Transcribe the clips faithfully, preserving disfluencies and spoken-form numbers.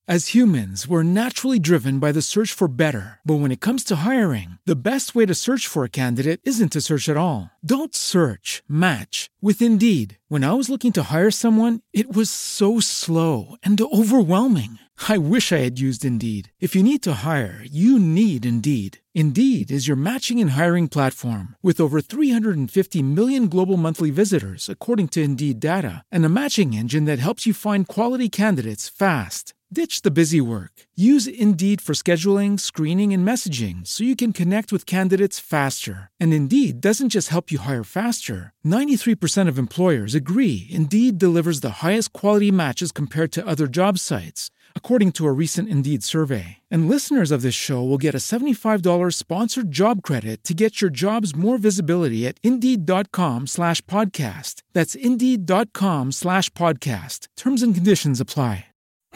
As humans, we're naturally driven by the search for better. But when it comes to hiring, the best way to search for a candidate isn't to search at all. Don't search, match with Indeed. When I was looking to hire someone, it was so slow and overwhelming. I wish I had used Indeed. If you need to hire, you need Indeed. Indeed is your matching and hiring platform with over three hundred fifty million global monthly visitors, according to Indeed data, and a matching engine that helps you find quality candidates fast. Ditch the busy work. Use Indeed for scheduling, screening, and messaging so you can connect with candidates faster. And Indeed doesn't just help you hire faster. ninety-three percent of employers agree Indeed delivers the highest quality matches compared to other job sites, according to a recent Indeed survey. And listeners of this show will get a seventy-five dollars sponsored job credit to get your jobs more visibility at Indeed.com slash podcast. That's Indeed.com slash podcast. Terms and conditions apply.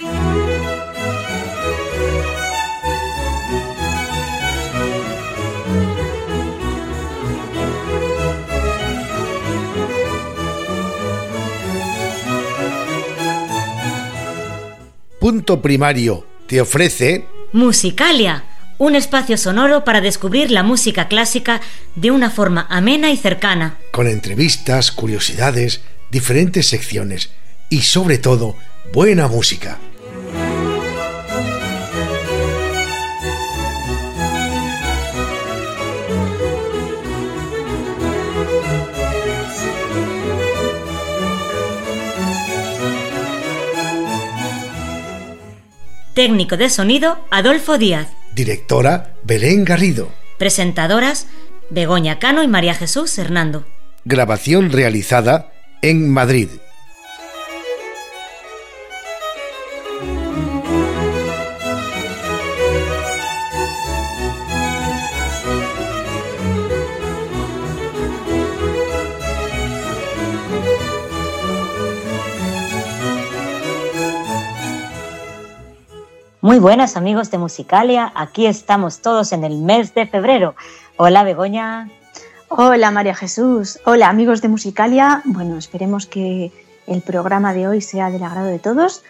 Punto Primario te ofrece Musicalia, un espacio sonoro para descubrir la música clásica de una forma amena y cercana. Con entrevistas, curiosidades, diferentes secciones y sobre todo, buena música. Técnico de sonido, Adolfo Díaz. Directora, Belén Garrido. Presentadoras, Begoña Cano y María Jesús Hernando. Grabación realizada en Madrid. Muy buenas amigos de Musicalia, aquí estamos todos en el mes de febrero. Hola Begoña. Hola María Jesús, hola amigos de Musicalia. Bueno, esperemos que el programa de hoy sea del agrado de todos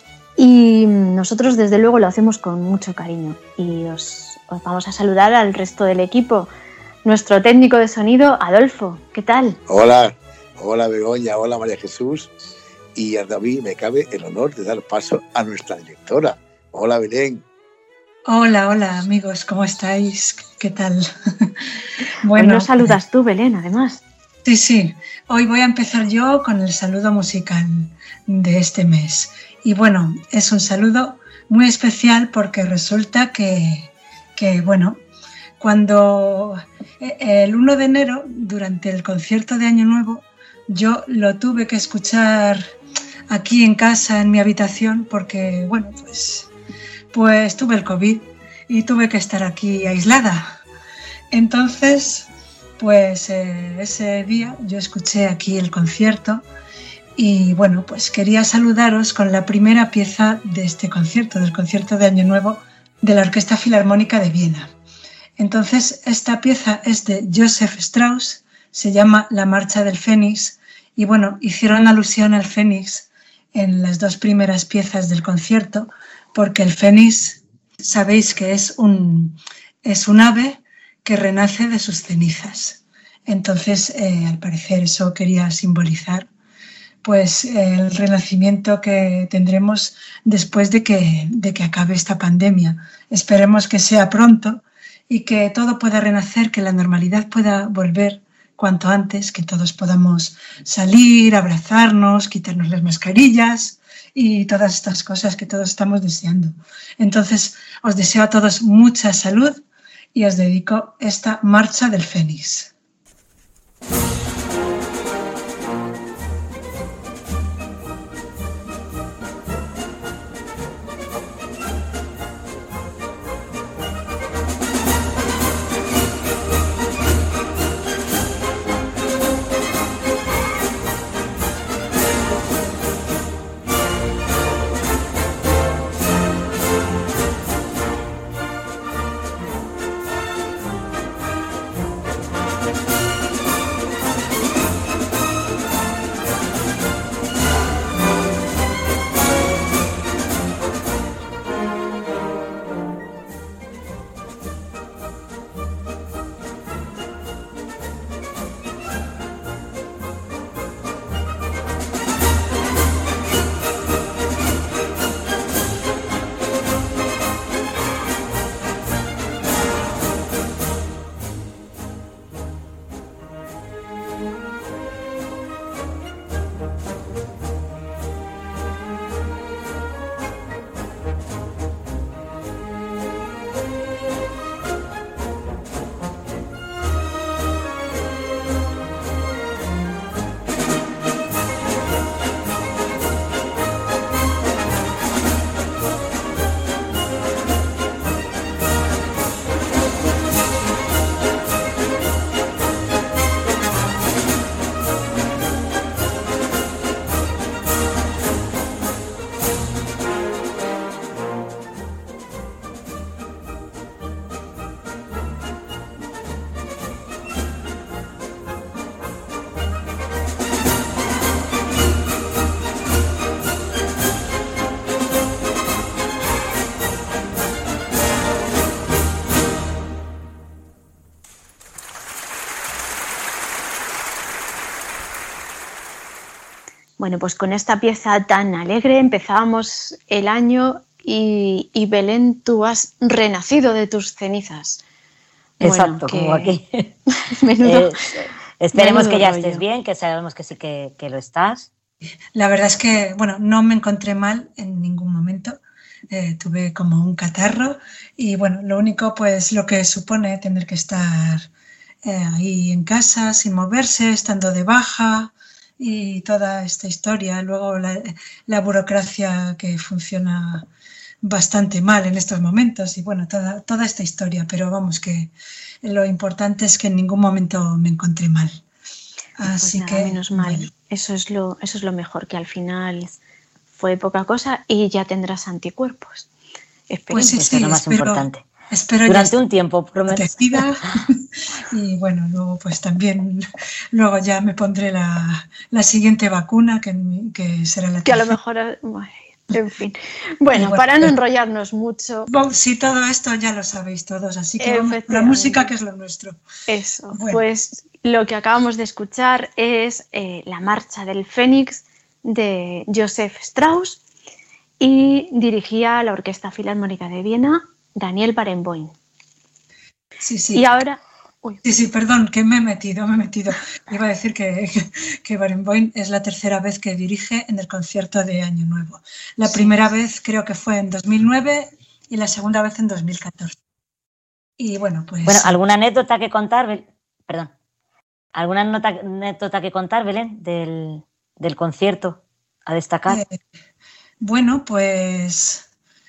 y nosotros desde luego lo hacemos con mucho cariño y os, os vamos a saludar al resto del equipo. Nuestro técnico de sonido, Adolfo, ¿qué tal? Hola, hola Begoña, hola María Jesús, y a mí me cabe el honor de dar paso a nuestra directora. Hola, Belén. Hola, hola, amigos, ¿cómo estáis? ¿Qué tal? Bueno, hoy nos saludas tú, Belén, además. Sí, sí. Hoy voy a empezar yo con el saludo musical de este mes. Y bueno, es un saludo muy especial porque resulta que, que bueno, cuando el primero de enero, durante el concierto de Año Nuevo, yo lo tuve que escuchar aquí en casa, en mi habitación, porque, bueno, pues... Pues tuve el COVID y tuve que estar aquí aislada. Entonces, pues eh, ese día yo escuché aquí el concierto y bueno, pues quería saludaros con la primera pieza de este concierto, del concierto de Año Nuevo de la Orquesta Filarmónica de Viena. Entonces, esta pieza es de Joseph Strauss, se llama La Marcha del Fénix y bueno, hicieron alusión al Fénix en las dos primeras piezas del concierto, porque el fénix, sabéis que es un, es un ave que renace de sus cenizas. Entonces, eh, al parecer, eso quería simbolizar pues, eh, el renacimiento que tendremos después de que, de que acabe esta pandemia. Esperemos que sea pronto y que todo pueda renacer, que la normalidad pueda volver cuanto antes, que todos podamos salir, abrazarnos, quitarnos las mascarillas y todas estas cosas que todos estamos deseando. Entonces, os deseo a todos mucha salud y os dedico esta Marcha del Fénix. Bueno, pues con esta pieza tan alegre empezábamos el año y, y Belén, tú has renacido de tus cenizas. Exacto, bueno, que... como aquí. menudo, eh, esperemos menudo que ya rollo. Estés bien, que sabemos que sí que, que lo estás. La verdad es que, bueno, no me encontré mal en ningún momento. Eh, tuve como un catarro y, bueno, lo único, pues, lo que supone tener que estar eh, ahí en casa, sin moverse, estando de baja y toda esta historia. Luego la, la burocracia que funciona bastante mal en estos momentos y, bueno, toda, toda esta historia. Pero vamos, que lo importante es que en ningún momento me encontré mal. Así pues nada, que, menos mal. Bueno. Eso es lo, eso es lo mejor, que al final fue poca cosa y ya tendrás anticuerpos. Esperemos. Pues sí, sí, eso es lo más espero, importante. Espero durante un tiempo, protegida. Y bueno, luego pues también, luego ya me pondré la, la siguiente vacuna, que, que será la que a lo mejor, bueno, en fin. Bueno, bueno, para no enrollarnos mucho. Sí, todo esto ya lo sabéis todos, así que vamos, la música, que es lo nuestro. Eso, bueno. Pues lo que acabamos de escuchar es eh, la Marcha del Fénix de Joseph Strauss y dirigía la Orquesta Filarmónica de Viena Daniel Barenboim. Sí, sí. Y ahora... Uy. Sí, sí, perdón, que me he metido, me he metido. Iba a decir que, que, que Barenboim es la tercera vez que dirige en el concierto de Año Nuevo. La sí. primera vez creo que fue en dos mil nueve y la segunda vez en dos mil catorce. Y bueno, pues... Bueno, ¿alguna anécdota que contar? Bel... Perdón. ¿Alguna nota, anécdota que contar, Belén, del, del concierto a destacar? Eh, bueno, pues...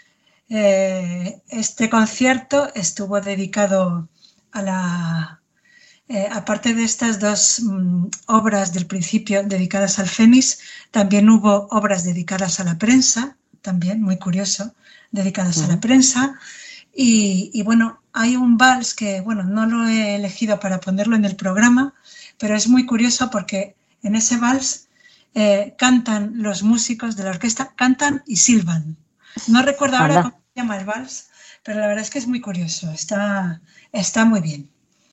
Eh, este concierto estuvo dedicado a la, eh, aparte de estas dos mm, obras del principio dedicadas al Fénix, también hubo obras dedicadas a la prensa, también muy curioso, dedicadas uh-huh. a la prensa. Y, y bueno, hay un vals que, bueno, no lo he elegido para ponerlo en el programa, pero es muy curioso porque en ese vals eh, cantan los músicos de la orquesta, cantan y silban. No recuerdo ahora cómo se llama el vals, pero la verdad es que es muy curioso, está, está muy bien.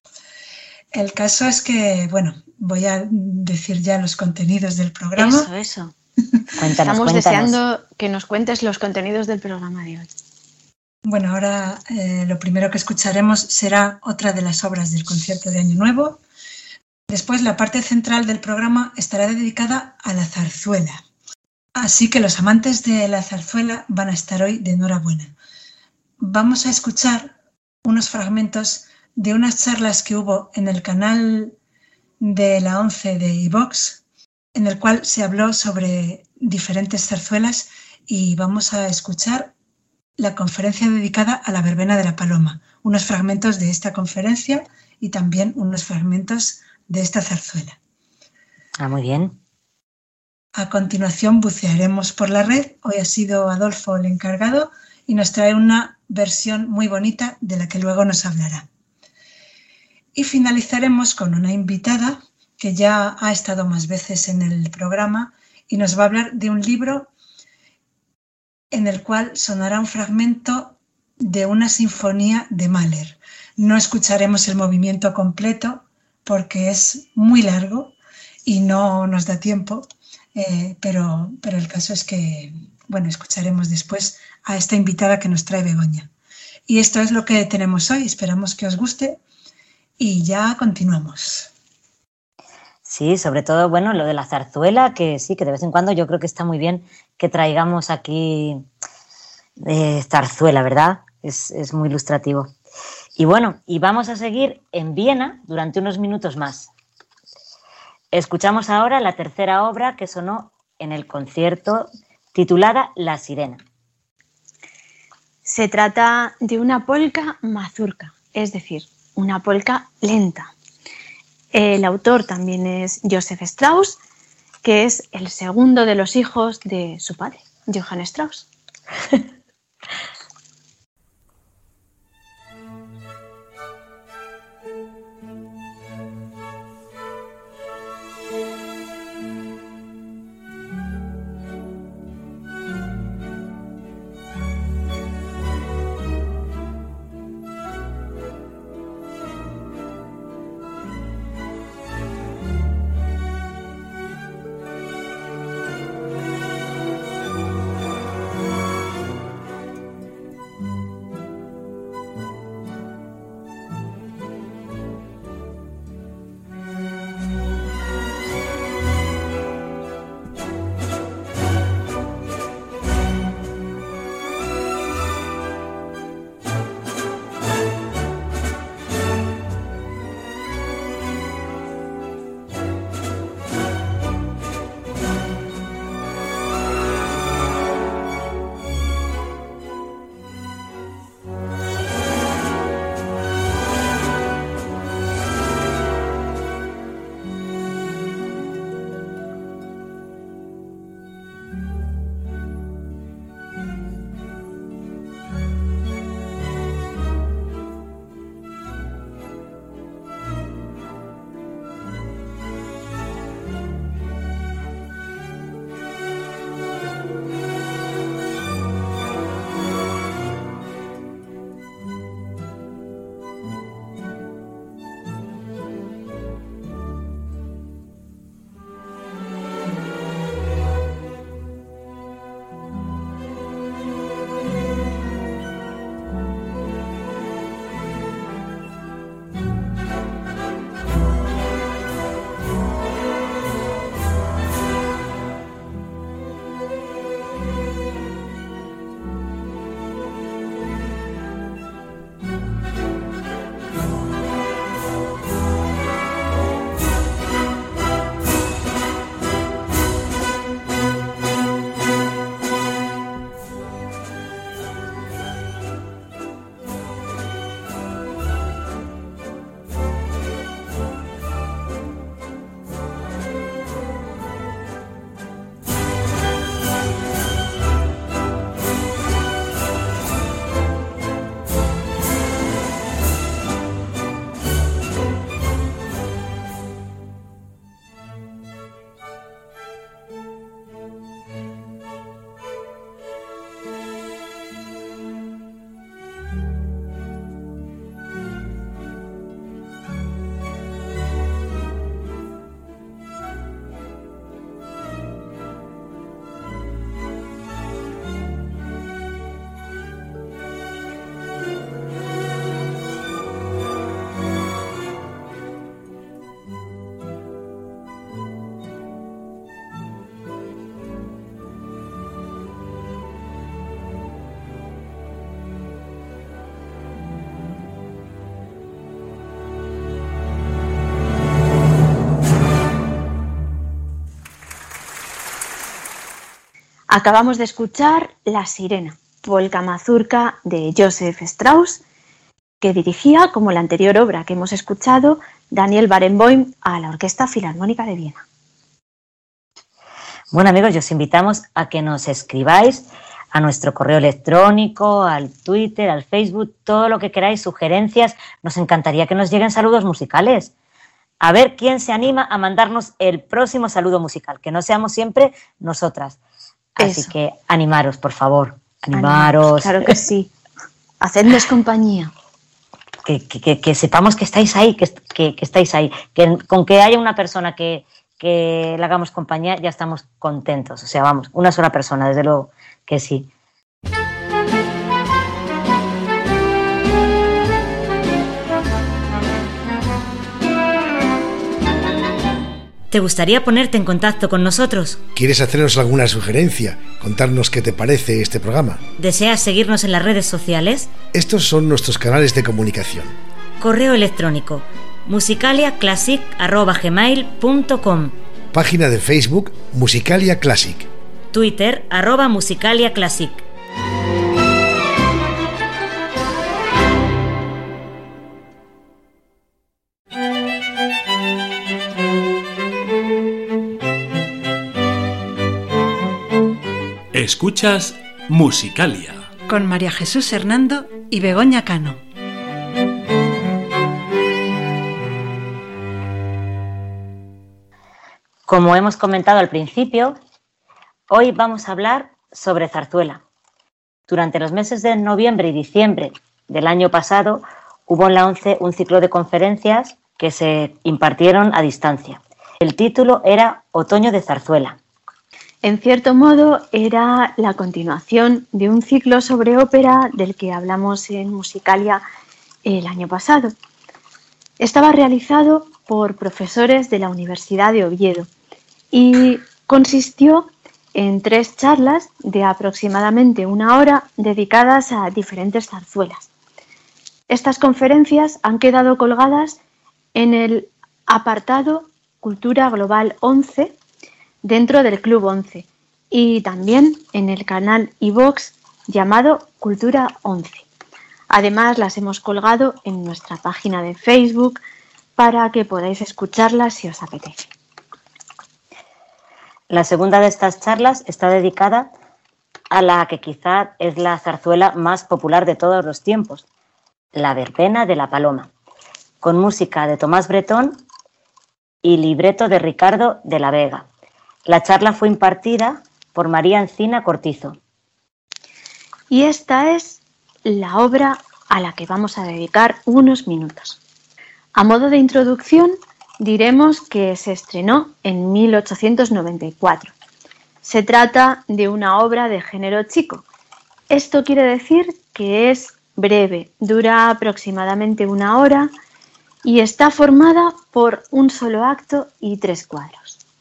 El caso es que, bueno, voy a decir ya los contenidos del programa. Eso, eso. Cuéntanos, Estamos cuéntanos. deseando que nos cuentes los contenidos del programa de hoy. Bueno, ahora eh, lo primero que escucharemos será otra de las obras del concierto de Año Nuevo. Después, la parte central del programa estará dedicada a la zarzuela. Así que los amantes de la zarzuela van a estar hoy de enhorabuena. Vamos a escuchar unos fragmentos de unas charlas que hubo en el canal de la once de iVox, en el cual se habló sobre diferentes zarzuelas y vamos a escuchar la conferencia dedicada a la verbena de la Paloma, unos fragmentos de esta conferencia y también unos fragmentos de esta zarzuela. Ah, muy bien. A continuación bucearemos por la red. Hoy ha sido Adolfo el encargado y nos trae una versión muy bonita de la que luego nos hablará. Y finalizaremos con una invitada que ya ha estado más veces en el programa y nos va a hablar de un libro en el cual sonará un fragmento de una sinfonía de Mahler. No escucharemos el movimiento completo porque es muy largo y no nos da tiempo. Eh, pero, pero el caso es que, bueno, escucharemos después a esta invitada que nos trae Begoña. Y esto es lo que tenemos hoy, esperamos que os guste y ya continuamos. Sí, sobre todo, bueno, lo de la zarzuela, que sí, que de vez en cuando yo creo que está muy bien que traigamos aquí eh, zarzuela, ¿verdad? Es, es muy ilustrativo. Y bueno, y vamos a seguir en Viena durante unos minutos más. Escuchamos ahora la tercera obra que sonó en el concierto, titulada La Sirena. Se trata de una polka mazurka, es decir, una polka lenta. El autor también es Joseph Strauss, que es el segundo de los hijos de su padre, Johann Strauss. Acabamos de escuchar La Sirena, polka mazurka de Joseph Strauss, que dirigía, como la anterior obra que hemos escuchado, Daniel Barenboim a la Orquesta Filarmónica de Viena. Bueno, amigos, os invitamos a que nos escribáis a nuestro correo electrónico, al Twitter, al Facebook, todo lo que queráis, sugerencias. Nos encantaría que nos lleguen saludos musicales. A ver quién se anima a mandarnos el próximo saludo musical, que no seamos siempre nosotras. Así Eso. que animaros, por favor, animaros. Claro que sí. Hacednos compañía. Que, que, que, que sepamos que estáis ahí, que, que, que estáis ahí. Que con que haya una persona que, que le hagamos compañía, ya estamos contentos. O sea, vamos, una sola persona, desde luego que sí. ¿Te gustaría ponerte en contacto con nosotros? ¿Quieres hacernos alguna sugerencia? Contarnos qué te parece este programa. ¿Deseas seguirnos en las redes sociales? Estos son nuestros canales de comunicación. Correo electrónico musicaliaclassic arroba gmail punto com. Página de Facebook Musicalia Classic. Twitter arroba musicaliaclassic. Escuchas Musicalia con María Jesús Hernando y Begoña Cano. Como hemos comentado al principio, hoy vamos a hablar sobre zarzuela. Durante los meses de noviembre y diciembre del año pasado hubo en la ONCE un ciclo de conferencias que se impartieron a distancia. El título era Otoño de Zarzuela. En cierto modo, era la continuación de un ciclo sobre ópera del que hablamos en Musicalia el año pasado. Estaba realizado por profesores de la Universidad de Oviedo y consistió en tres charlas de aproximadamente una hora dedicadas a diferentes zarzuelas. Estas conferencias han quedado colgadas en el apartado Cultura Global once dentro del Club once y también en el canal iVoox llamado Cultura once. Además, las hemos colgado en nuestra página de Facebook para que podáis escucharlas si os apetece. La segunda de estas charlas está dedicada a la que quizá es la zarzuela más popular de todos los tiempos, la verbena de la Paloma, con música de Tomás Bretón y libreto de Ricardo de la Vega. La charla fue impartida por María Encina Cortizo. Y esta es la obra a la que vamos a dedicar unos minutos. A modo de introducción, diremos que se estrenó en mil ochocientos noventa y cuatro. Se trata de una obra de género chico. Esto quiere decir que es breve, dura aproximadamente una hora y está formada por un solo acto y tres cuadros.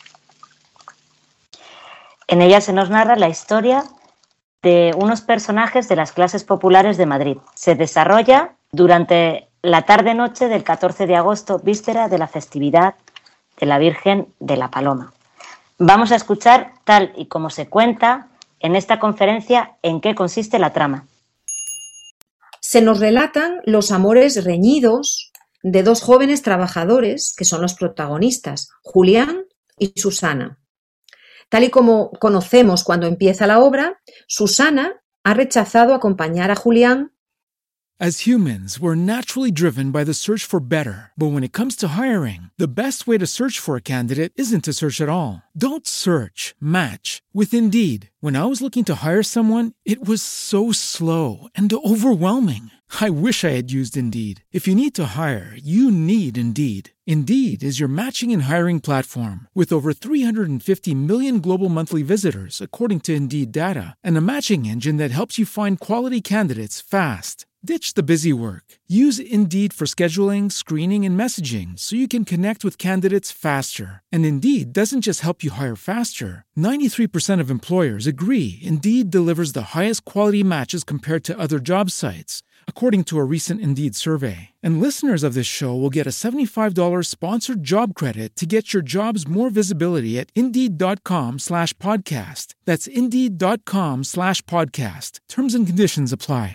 En ella se nos narra la historia de unos personajes de las clases populares de Madrid. Se desarrolla durante la tarde-noche del catorce de agosto, víspera de la festividad de la Virgen de la Paloma. Vamos a escuchar, tal y como se cuenta en esta conferencia, en qué consiste la trama. Se nos relatan los amores reñidos de dos jóvenes trabajadores que son los protagonistas, Julián y Susana. Tal y como conocemos cuando empieza la obra, Susana ha rechazado acompañar a Julián. As humans, we're naturally driven by the search for better. But when it comes to hiring, the best way to search for a candidate isn't to search at all. Don't search, match with Indeed. When I was looking to hire someone, it was so slow and overwhelming. I wish I had used Indeed. If you need to hire, you need Indeed. Indeed is your matching and hiring platform with over three hundred fifty million global monthly visitors, according to Indeed data, and a matching engine that helps you find quality candidates fast. Ditch the busy work. Use Indeed for scheduling, screening, and messaging so you can connect with candidates faster. And Indeed doesn't just help you hire faster. ninety-three percent of employers agree Indeed delivers the highest quality matches compared to other job sites, according to a recent Indeed survey. And listeners of this show will get a seventy-five dollars sponsored job credit to get your jobs more visibility at Indeed.com slash podcast. That's Indeed.com slash podcast. Terms and conditions apply.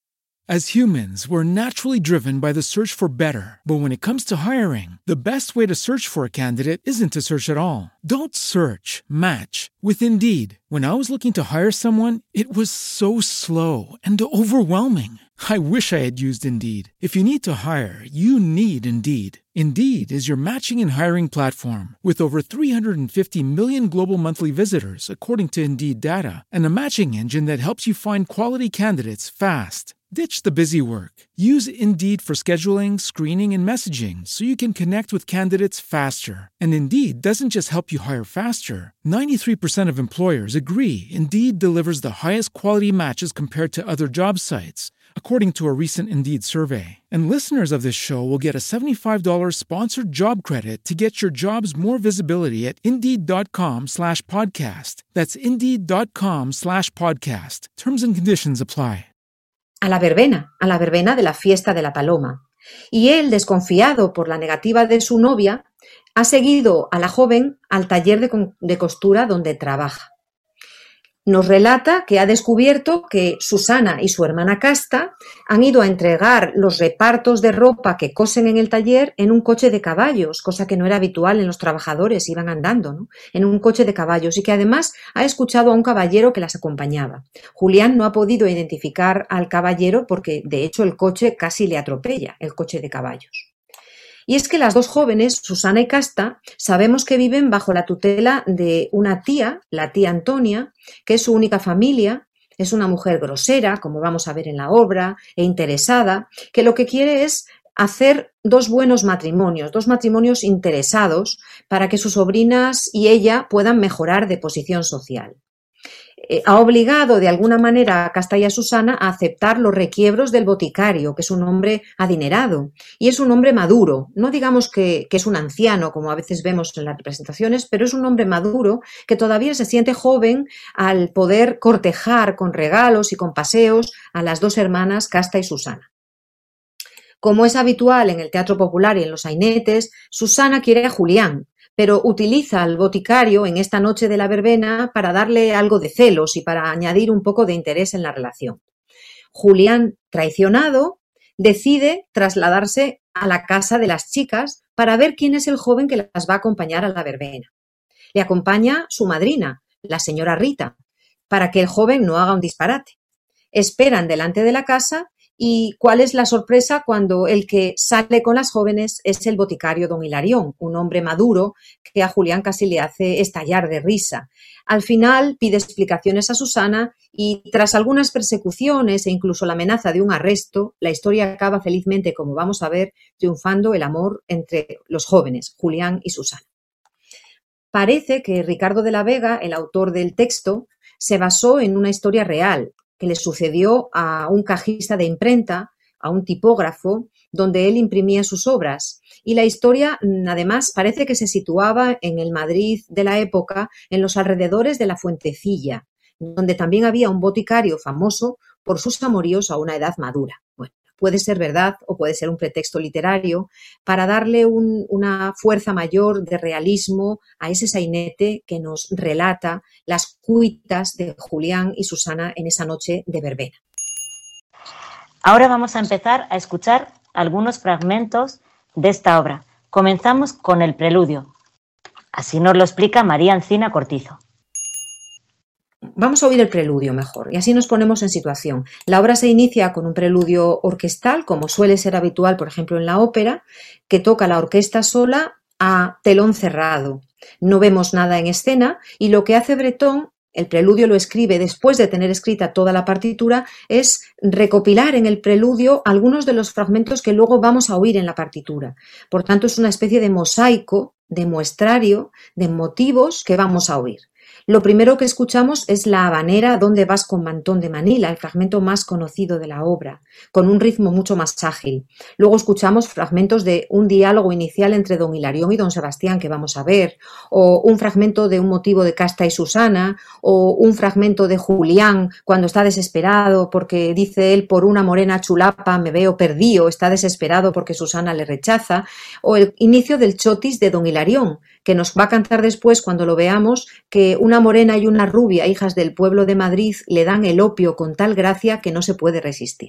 As humans, we're naturally driven by the search for better. But when it comes to hiring, the best way to search for a candidate isn't to search at all. Don't search, match with Indeed. When I was looking to hire someone, it was so slow and overwhelming. I wish I had used Indeed. If you need to hire, you need Indeed. Indeed is your matching and hiring platform with over three hundred fifty million global monthly visitors, according to Indeed data, and a matching engine that helps you find quality candidates fast. Ditch the busy work. Use Indeed for scheduling, screening, and messaging so you can connect with candidates faster. And Indeed doesn't just help you hire faster. ninety-three percent of employers agree Indeed delivers the highest quality matches compared to other job sites, according to a recent Indeed survey. And listeners of this show will get a seventy-five dollars sponsored job credit to get your jobs more visibility at Indeed.com slash podcast. That's Indeed.com slash podcast. Terms and conditions apply. A la verbena, a la verbena de la fiesta de la paloma. Y él, desconfiado por la negativa de su novia, ha seguido a la joven al taller de, de costura donde trabaja. Nos relata que ha descubierto que Susana y su hermana Casta han ido a entregar los repartos de ropa que cosen en el taller en un coche de caballos, cosa que no era habitual en los trabajadores, iban andando, ¿no? En un coche de caballos, y que además ha escuchado a un caballero que las acompañaba. Julián no ha podido identificar al caballero porque de hecho el coche casi le atropella, el coche de caballos. Y es que las dos jóvenes, Susana y Casta, sabemos que viven bajo la tutela de una tía, la tía Antonia, que es su única familia. Es una mujer grosera, como vamos a ver en la obra, e interesada, que lo que quiere es hacer dos buenos matrimonios, dos matrimonios interesados para que sus sobrinas y ella puedan mejorar de posición social. Eh, ha obligado de alguna manera a Casta y a Susana a aceptar los requiebros del boticario, que es un hombre adinerado y es un hombre maduro. No digamos que, que es un anciano, como a veces vemos en las representaciones, pero es un hombre maduro que todavía se siente joven al poder cortejar con regalos y con paseos a las dos hermanas Casta y Susana. Como es habitual en el teatro popular y en los sainetes, Susana quiere a Julián, pero utiliza al boticario en esta noche de la verbena para darle algo de celos y para añadir un poco de interés en la relación. Julián, traicionado, decide trasladarse a la casa de las chicas para ver quién es el joven que las va a acompañar a la verbena. Le acompaña su madrina, la señora Rita, para que el joven no haga un disparate. Esperan delante de la casa. ¿Y cuál es la sorpresa cuando el que sale con las jóvenes es el boticario don Hilarión, un hombre maduro que a Julián casi le hace estallar de risa? Al final pide explicaciones a Susana y tras algunas persecuciones e incluso la amenaza de un arresto, la historia acaba felizmente, como vamos a ver, triunfando el amor entre los jóvenes, Julián y Susana. Parece que Ricardo de la Vega, el autor del texto, se basó en una historia real que le sucedió a un cajista de imprenta, a un tipógrafo, donde él imprimía sus obras. Y la historia, además, parece que se situaba en el Madrid de la época, en los alrededores de la Fuentecilla, donde también había un boticario famoso por sus amoríos a una edad madura. Bueno, puede ser verdad o puede ser un pretexto literario para darle un, una fuerza mayor de realismo a ese sainete que nos relata las cuitas de Julián y Susana en esa noche de verbena. Ahora vamos a empezar a escuchar algunos fragmentos de esta obra. Comenzamos con el preludio. Así nos lo explica María Encina Cortizo. Vamos a oír el preludio mejor y así nos ponemos en situación. La obra se inicia con un preludio orquestal, como suele ser habitual, por ejemplo, en la ópera, que toca la orquesta sola a telón cerrado. No vemos nada en escena y lo que hace Breton, el preludio lo escribe después de tener escrita toda la partitura, es recopilar en el preludio algunos de los fragmentos que luego vamos a oír en la partitura. Por tanto, es una especie de mosaico, de muestrario, de motivos que vamos a oír. Lo primero que escuchamos es la habanera ¿Dónde vas con mantón de Manila?, el fragmento más conocido de la obra, con un ritmo mucho más ágil. Luego escuchamos fragmentos de un diálogo inicial entre don Hilarión y don Sebastián, que vamos a ver, o un fragmento de un motivo de Casta y Susana, o un fragmento de Julián cuando está desesperado porque dice él: por una morena chulapa me veo perdido, está desesperado porque Susana le rechaza, o el inicio del chotis de don Hilarión, que nos va a cantar después cuando lo veamos, que una morena y una rubia, hijas del pueblo de Madrid, le dan el opio con tal gracia que no se puede resistir.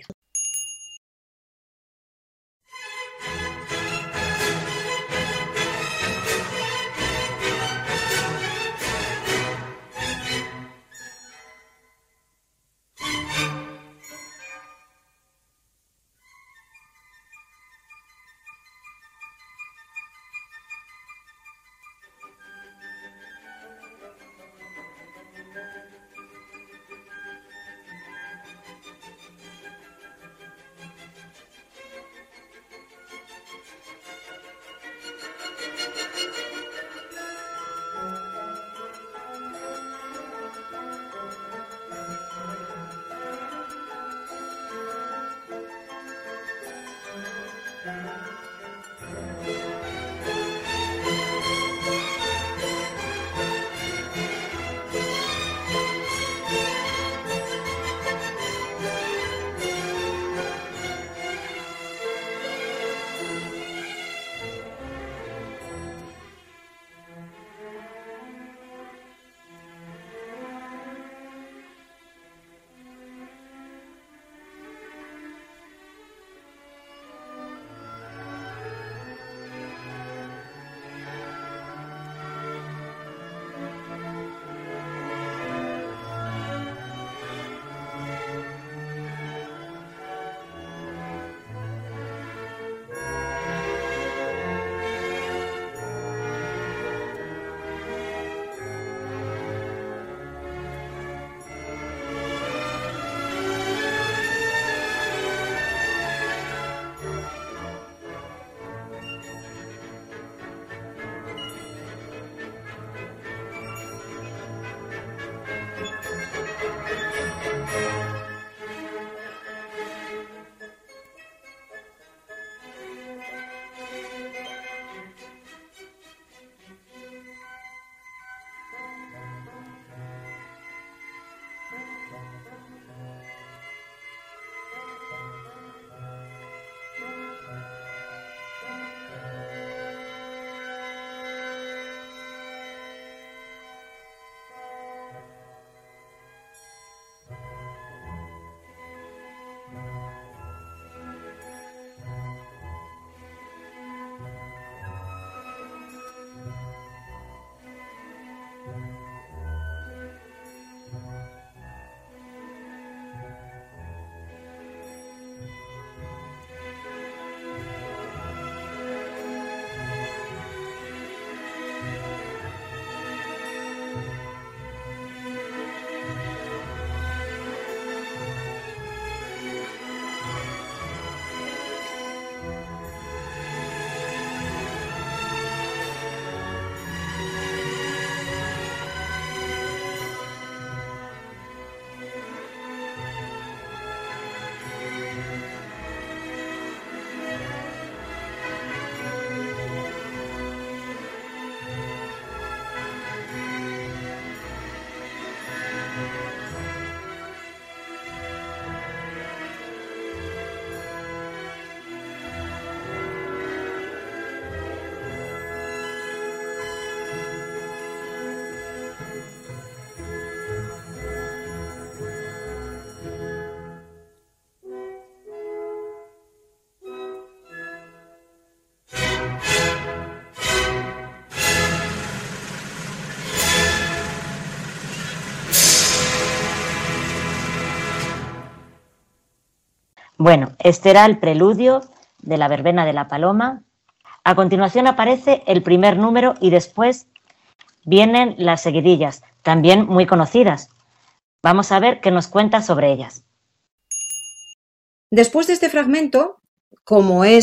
Bueno, este era el preludio de la verbena de la Paloma. A continuación aparece el primer número y después vienen las seguidillas, también muy conocidas. Vamos a ver qué nos cuenta sobre ellas. Después de este fragmento, como es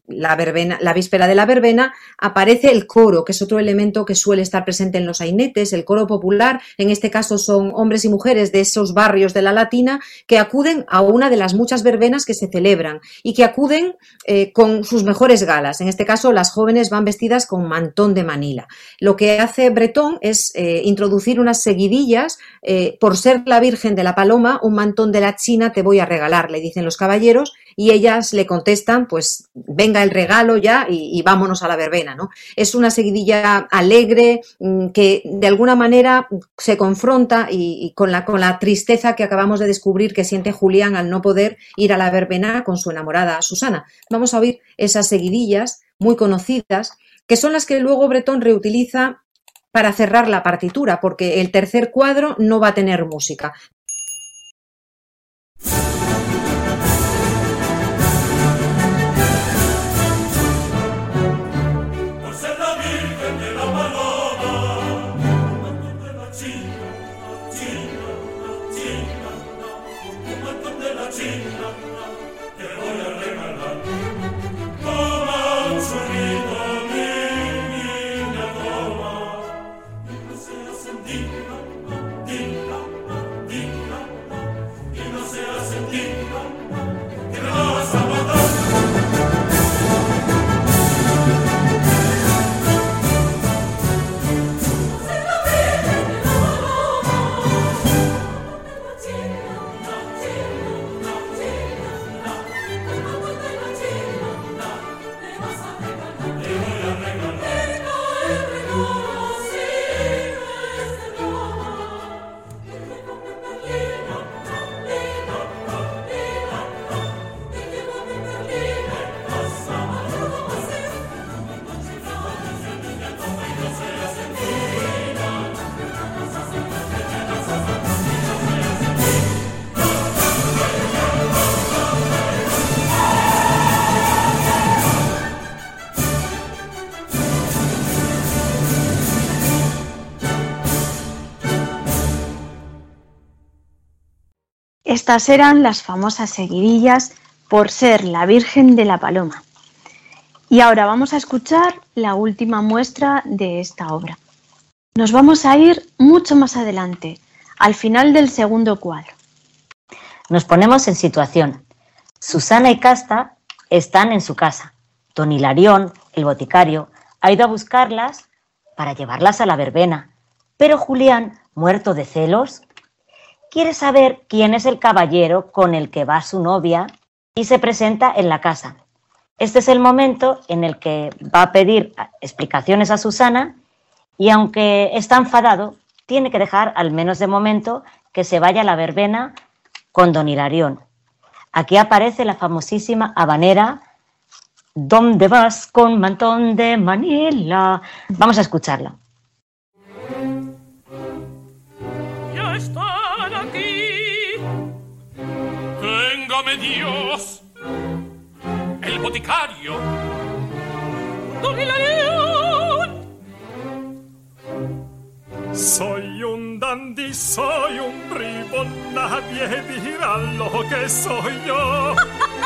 la verbena, la víspera de la verbena, aparece el coro, que es otro elemento que suele estar presente en los sainetes, el coro popular. En este caso son hombres y mujeres de esos barrios de la Latina que acuden a una de las muchas verbenas que se celebran y que acuden eh, con sus mejores galas. En este caso, las jóvenes van vestidas con mantón de Manila. Lo que hace Bretón es eh, introducir unas seguidillas. Eh, por ser la Virgen de la Paloma, un mantón de la China te voy a regalar, le dicen los caballeros, y ellas le contestan, pues venga el regalo ya y, y vámonos a la verbena, ¿no? Es una seguidilla alegre que de alguna manera se confronta y, y con, la, con la tristeza que acabamos de descubrir que siente Julián al no poder ir a la verbena con su enamorada Susana. Vamos a oír esas seguidillas muy conocidas, que son las que luego Bretón reutiliza para cerrar la partitura, porque el tercer cuadro no va a tener música. Estas eran las famosas seguidillas por ser la Virgen de la Paloma. Y ahora vamos a escuchar la última muestra de esta obra. Nos vamos a ir mucho más adelante, al final del segundo cuadro. Nos ponemos en situación. Susana y Casta están en su casa. Don Hilarión, el boticario, ha ido a buscarlas para llevarlas a la verbena. Pero Julián, muerto de celos, quiere saber quién es el caballero con el que va su novia y se presenta en la casa. Este es el momento en el que va a pedir explicaciones a Susana y aunque está enfadado, tiene que dejar al menos de momento que se vaya a la verbena con don Hilarión. Aquí aparece la famosísima habanera ¿Dónde vas con mantón de Manila? Vamos a escucharla. Ya están aquí. Téngame Dios, el boticario, don Hilarión. Soy un dandy, soy un bribón, nadie dirá lo que soy yo.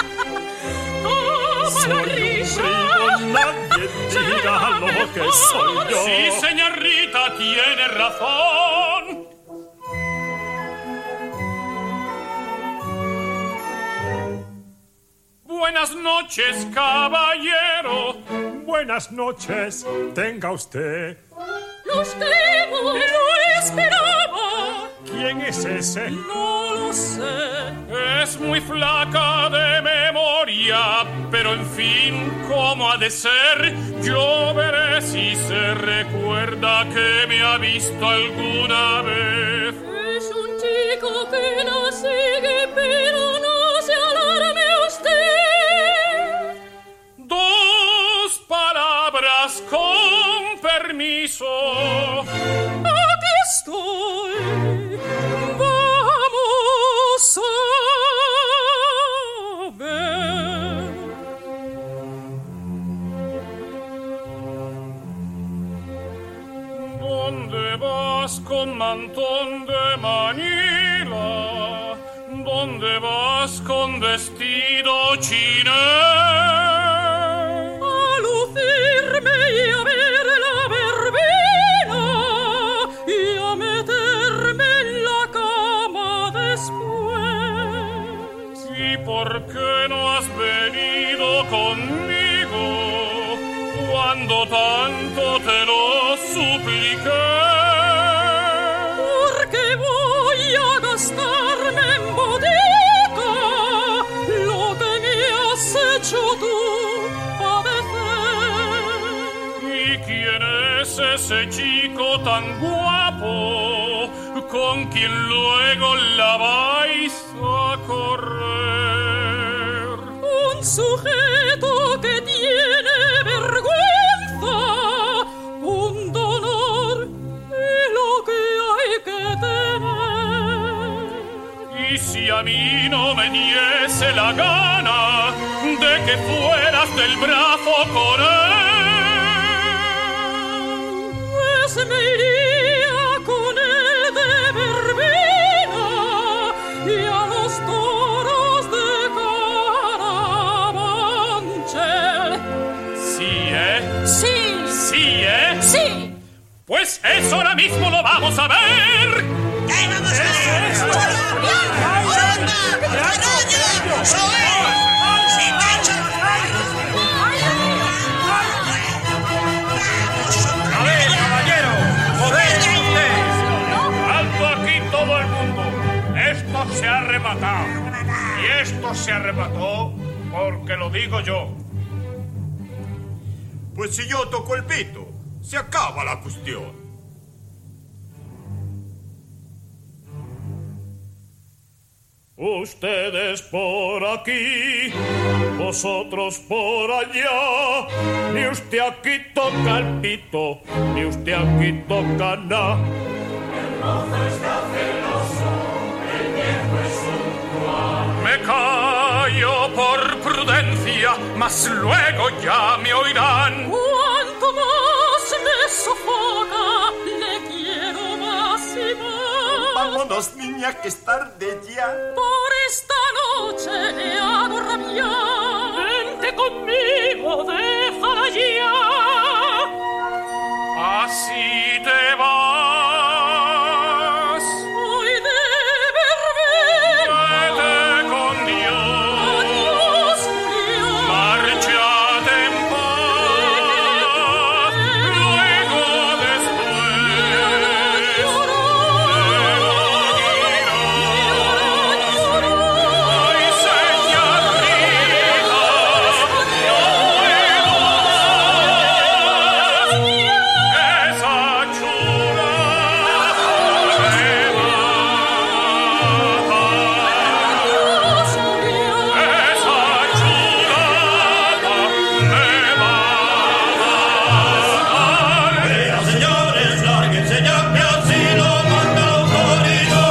Soy un bribón, nadie dirá lo que soy yo. Sí, señorita, tiene razón. Buenas noches, caballero. Buenas noches, tenga usted. Los creo, lo esperaba. ¿Quién es ese? No lo sé. Es muy flaca de memoria, pero en fin, ¿cómo ha de ser? Yo veré si se recuerda que me ha visto alguna vez. Es un chico que la sigue, pero no se alarme usted. Dos palabras con permiso. Aquí estoy. Vamos a ver. ¿Dónde vas con mantón de Manila? ¿Dónde vas con vestido chinés? ¿por qué no has venido conmigo cuando tanto te lo supliqué? Porque voy a gastarme en botica lo que me has hecho tú padecer. ¿Y quién es ese chico tan guapo con quien luego la vais a correr? Un sujeto que tiene vergüenza, un dolor y lo que hay que tener. Y si a mí no me diese la gana de que fueras del brazo con él, pues me iría con él de verbena y a los toros de Carabanchel. ¿Sí, eh? Sí. ¿Sí, eh? Sí. Pues eso ahora mismo lo vamos a ver. ¿Qué vamos a ver? A ver, caballero, joder usted. Alto aquí todo el mundo. Esto se ha rematado. Y esto se arrebató porque lo digo yo. Pues si yo toco el pito, se acaba la cuestión. Ustedes por aquí, vosotros por allá. Ni usted aquí toca el pito, ni usted aquí toca nada. El mozo está celoso, el viejo es un cual. Me callo por prudencia, mas luego ya me oirán. Cuanto más me sofoca, le quiero más y más. Vámonos, niña, que es tarde ya. Por esta noche le hago rabiar. Vente conmigo, déjala ya. Así te vas. Hoy de verbena. Vete con Dios. Adiós, Julián. Márchate en paz. Luego después. Ay, señorita, no puedo más. Esa chula me mata. Esa chulada me va a matar. Pero señores, lárguense ya, que así lo manda autoridad.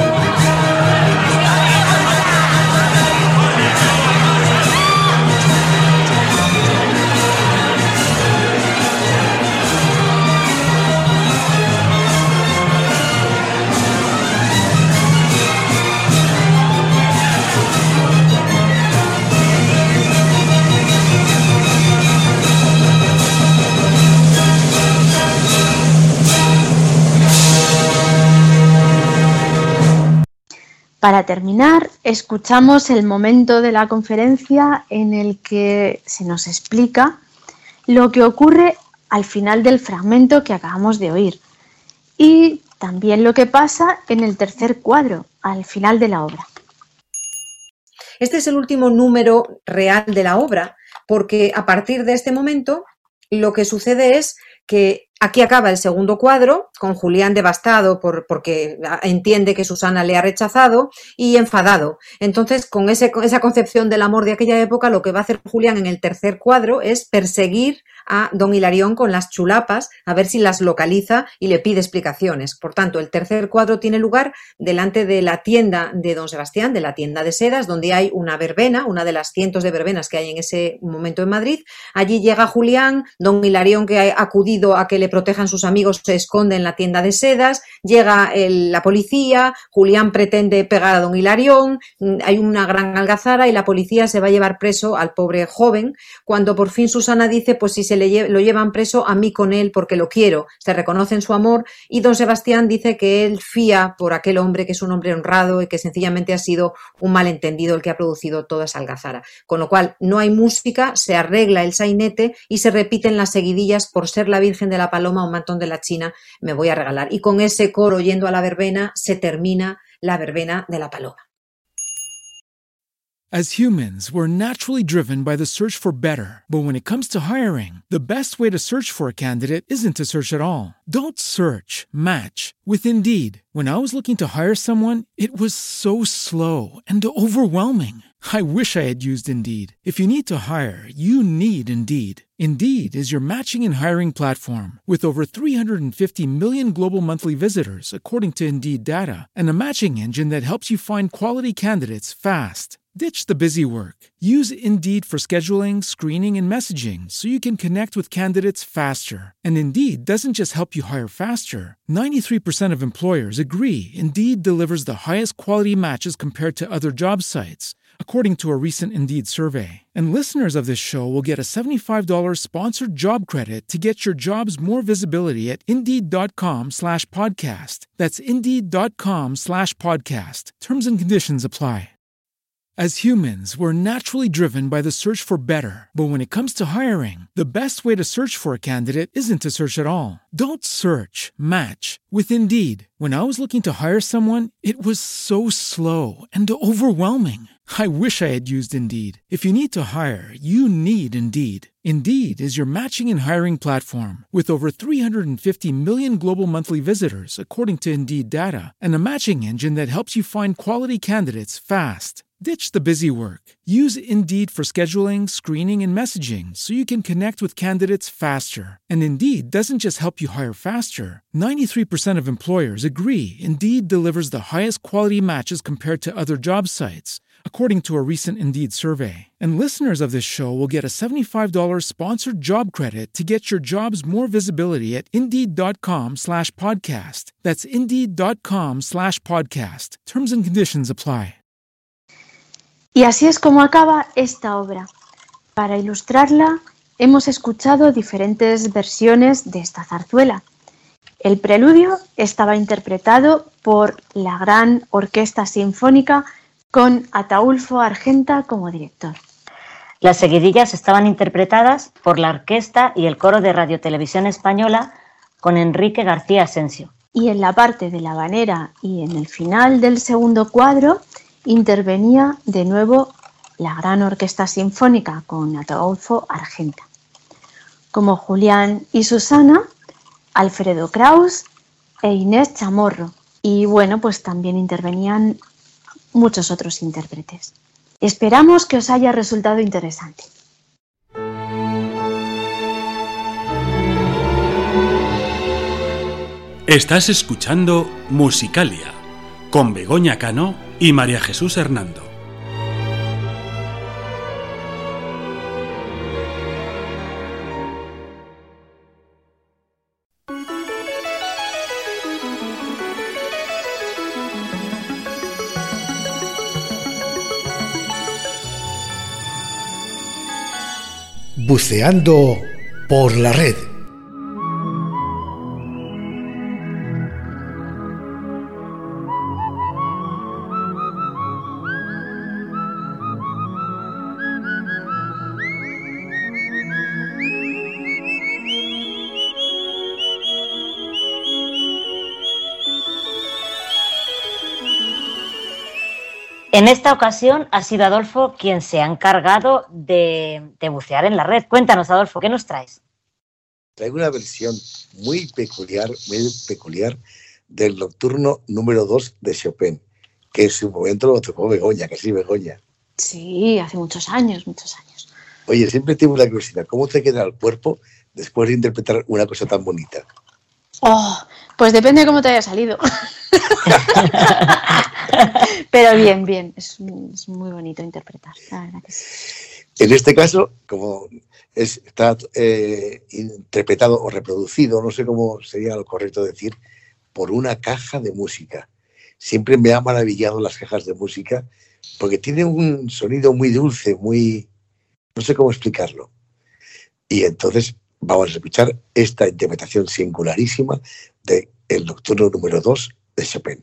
Para terminar, escuchamos el momento de la conferencia en el que se nos explica lo que ocurre al final del fragmento que acabamos de oír y también lo que pasa en el tercer cuadro, al final de la obra. Este es el último número real de la obra, porque a partir de este momento lo que sucede es que aquí acaba el segundo cuadro, con Julián devastado por, porque entiende que Susana le ha rechazado y enfadado. Entonces, con ese, esa concepción del amor de aquella época, lo que va a hacer Julián en el tercer cuadro es perseguir a don Hilarión con las chulapas, a ver si las localiza y le pide explicaciones. Por tanto, el tercer cuadro tiene lugar delante de la tienda de don Sebastián, de la tienda de sedas, donde hay una verbena, una de las cientos de verbenas que hay en ese momento en Madrid. Allí llega Julián, don Hilarión, que ha acudido a que le le protejan sus amigos, se esconde en la tienda de sedas, llega el, la policía, Julián pretende pegar a don Hilarión, hay una gran algazara y la policía se va a llevar preso al pobre joven, cuando por fin Susana dice, pues si se le lle- lo llevan preso, a mí con él porque lo quiero, se reconocen su amor y don Sebastián dice que él fía por aquel hombre, que es un hombre honrado y que sencillamente ha sido un malentendido el que ha producido toda esa algazara, con lo cual no hay música, se arregla el sainete y se repiten las seguidillas por ser la Virgen de la Paloma o Mantón de la China, me voy a regalar. Y con ese coro yendo a la verbena se termina la verbena de la Paloma. As humans, we're naturally driven by the search for better. But when it comes to hiring, the best way to search for a candidate isn't to search at all. Don't search, match with Indeed. When I was looking to hire someone, it was so slow and overwhelming. I wish I had used Indeed. If you need to hire, you need Indeed. Indeed is your matching and hiring platform with over three hundred fifty million global monthly visitors, according to Indeed data, and a matching engine that helps you find quality candidates fast. Ditch the busy work. Use Indeed for scheduling, screening, and messaging so you can connect with candidates faster. And Indeed doesn't just help you hire faster. ninety-three percent of employers agree Indeed delivers the highest quality matches compared to other job sites, according to a recent Indeed survey. And listeners of this show will get a seventy-five dollars sponsored job credit to get your jobs more visibility at Indeed.com slash podcast. That's Indeed.com slash podcast. Terms and conditions apply. As humans, we're naturally driven by the search for better. But when it comes to hiring, the best way to search for a candidate isn't to search at all. Don't search, match with Indeed. When I was looking to hire someone, it was so slow and overwhelming. I wish I had used Indeed. If you need to hire, you need Indeed. Indeed is your matching and hiring platform with over three hundred fifty million global monthly visitors, according to Indeed data, and a matching engine that helps you find quality candidates fast. Ditch the busy work. Use Indeed for scheduling, screening, and messaging so you can connect with candidates faster. And Indeed doesn't just help you hire faster. ninety-three percent of employers agree Indeed delivers the highest quality matches compared to other job sites, according to a recent Indeed survey. And listeners of this show will get a seventy-five dollars sponsored job credit to get your jobs more visibility at Indeed.com slash podcast. That's Indeed.com slash podcast. Terms and conditions apply. Y así es como acaba esta obra. Para ilustrarla, hemos escuchado diferentes versiones de esta zarzuela. El preludio estaba interpretado por la Gran Orquesta Sinfónica con Ataúlfo Argenta como director. Las seguidillas estaban interpretadas por la orquesta y el coro de Radio Televisión Española con Enrique García Asensio. Y en la parte de la habanera y en el final del segundo cuadro intervenía de nuevo la Gran Orquesta Sinfónica con Ataúlfo Argenta. Como Julián y Susana, Alfredo Kraus e Inés Chamorro. Y bueno, pues también intervenían muchos otros intérpretes. Esperamos que os haya resultado interesante. Estás escuchando Musicalia con Begoña Cano y María Jesús Hernando. Buceando por la red. En esta ocasión ha sido Adolfo quien se ha encargado de, de bucear en la red. Cuéntanos, Adolfo, ¿qué nos traes? Traigo una versión muy peculiar, muy peculiar del nocturno número dos de Chopin, que en su momento lo tocó Begoña, que sí, Begoña. Sí, hace muchos años, muchos años. Oye, siempre tengo la curiosidad, ¿cómo te queda el cuerpo después de interpretar una cosa tan bonita? Oh, pues depende de cómo te haya salido. Pero bien, bien, es, es muy bonito interpretar, la verdad que sí. En este caso, como es, está eh, interpretado o reproducido, no sé cómo sería lo correcto decir, por una caja de música. Siempre me ha maravillado las cajas de música porque tienen un sonido muy dulce, muy... no sé cómo explicarlo. Y entonces vamos a escuchar esta interpretación singularísima de el Nocturno número dos de Chopin.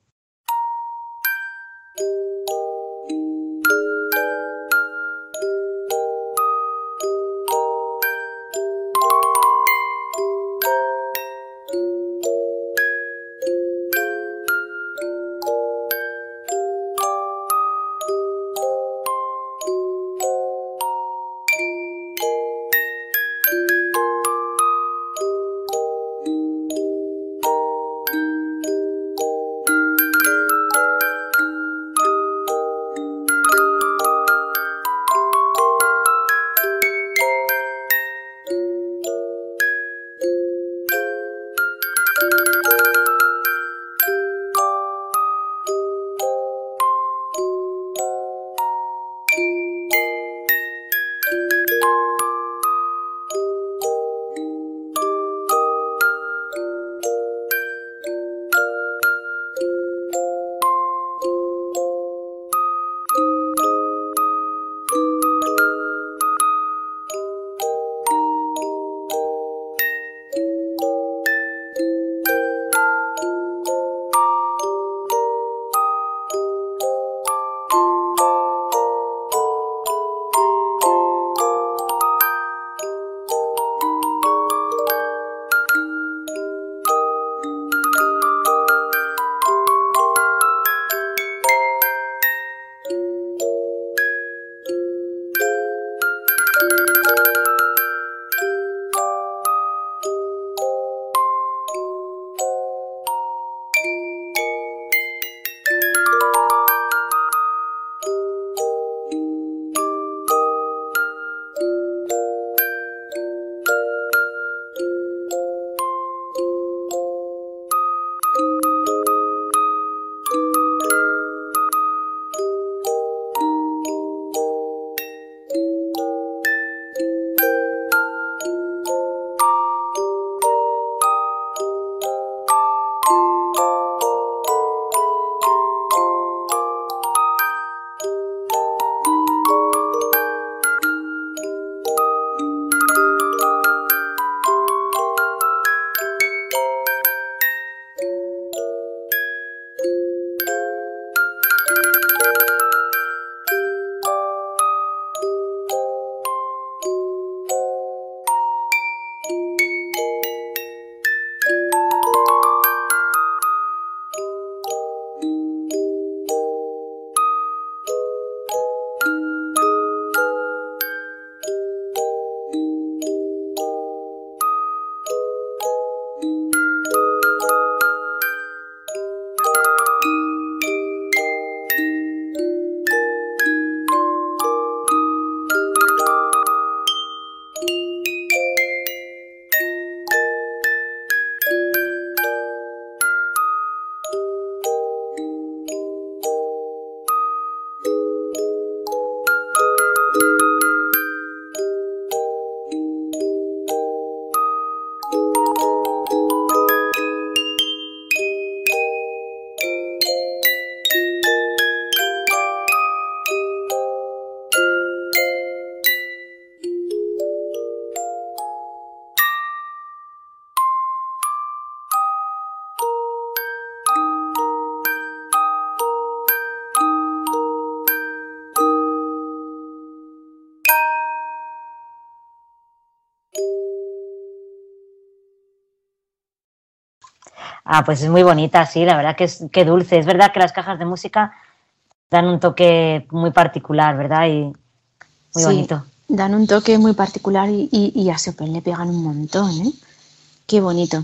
Ah, pues es muy bonita, sí, la verdad que es que dulce. Es verdad que las cajas de música dan un toque muy particular, ¿verdad? Y muy sí, bonito. Dan un toque muy particular y, y, y a Chopin le pegan un montón, ¿eh? Qué bonito.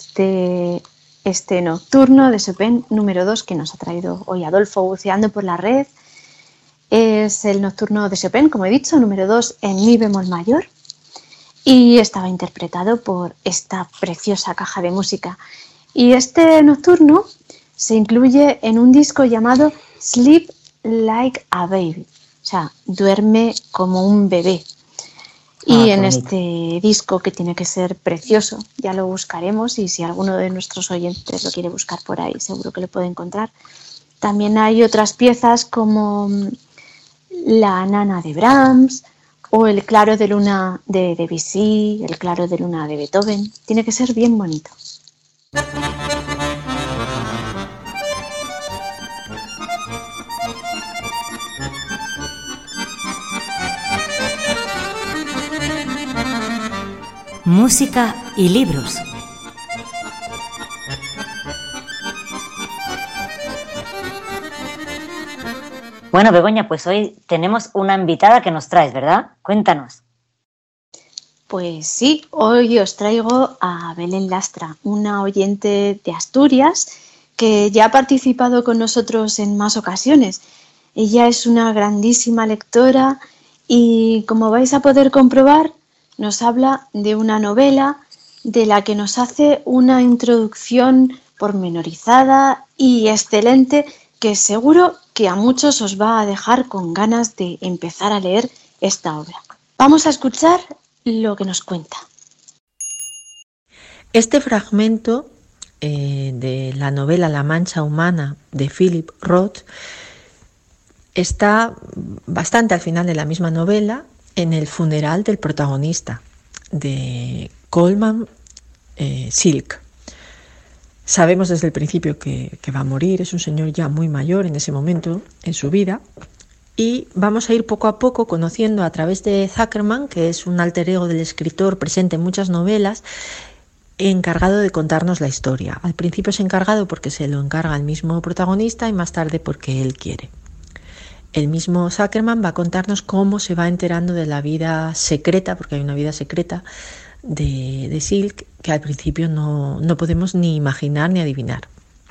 Este, este nocturno de Chopin número dos que nos ha traído hoy Adolfo buceando por la red es el nocturno de Chopin, como he dicho, número dos en mi bemol mayor, y estaba interpretado por esta preciosa caja de música. Y este nocturno se incluye en un disco llamado Sleep Like a Baby, O sea, duerme como un bebé. Y Ah, en bonito. este disco, que tiene que ser precioso, ya lo buscaremos, y si alguno de nuestros oyentes lo quiere buscar por ahí, seguro que lo puede encontrar. También hay otras piezas como La Nana de Brahms o El Claro de Luna de Debussy, El Claro de Luna de Beethoven. Tiene que ser bien bonito. Música y libros. Bueno, Begoña, pues hoy tenemos una invitada que nos traes, ¿verdad? Cuéntanos. Pues sí, hoy os traigo a Belén Lastra, una oyente de Asturias que ya ha participado con nosotros en más ocasiones. Ella es una grandísima lectora y, como vais a poder comprobar, nos habla de una novela de la que nos hace una introducción pormenorizada y excelente, que seguro que a muchos os va a dejar con ganas de empezar a leer esta obra. Vamos a escuchar lo que nos cuenta. Este fragmento eh, de la novela La Mancha Humana de Philip Roth está bastante al final de la misma novela, en el funeral del protagonista, de Coleman eh, Silk. Sabemos desde el principio que, que va a morir, es un señor ya muy mayor en ese momento en su vida, y vamos a ir poco a poco conociendo a través de Zuckerman, que es un alter ego del escritor presente en muchas novelas, encargado de contarnos la historia. Al principio es encargado porque se lo encarga el mismo protagonista y más tarde porque él quiere. El mismo Zuckerman va a contarnos cómo se va enterando de la vida secreta, porque hay una vida secreta de, de Silk que al principio no, no podemos ni imaginar ni adivinar.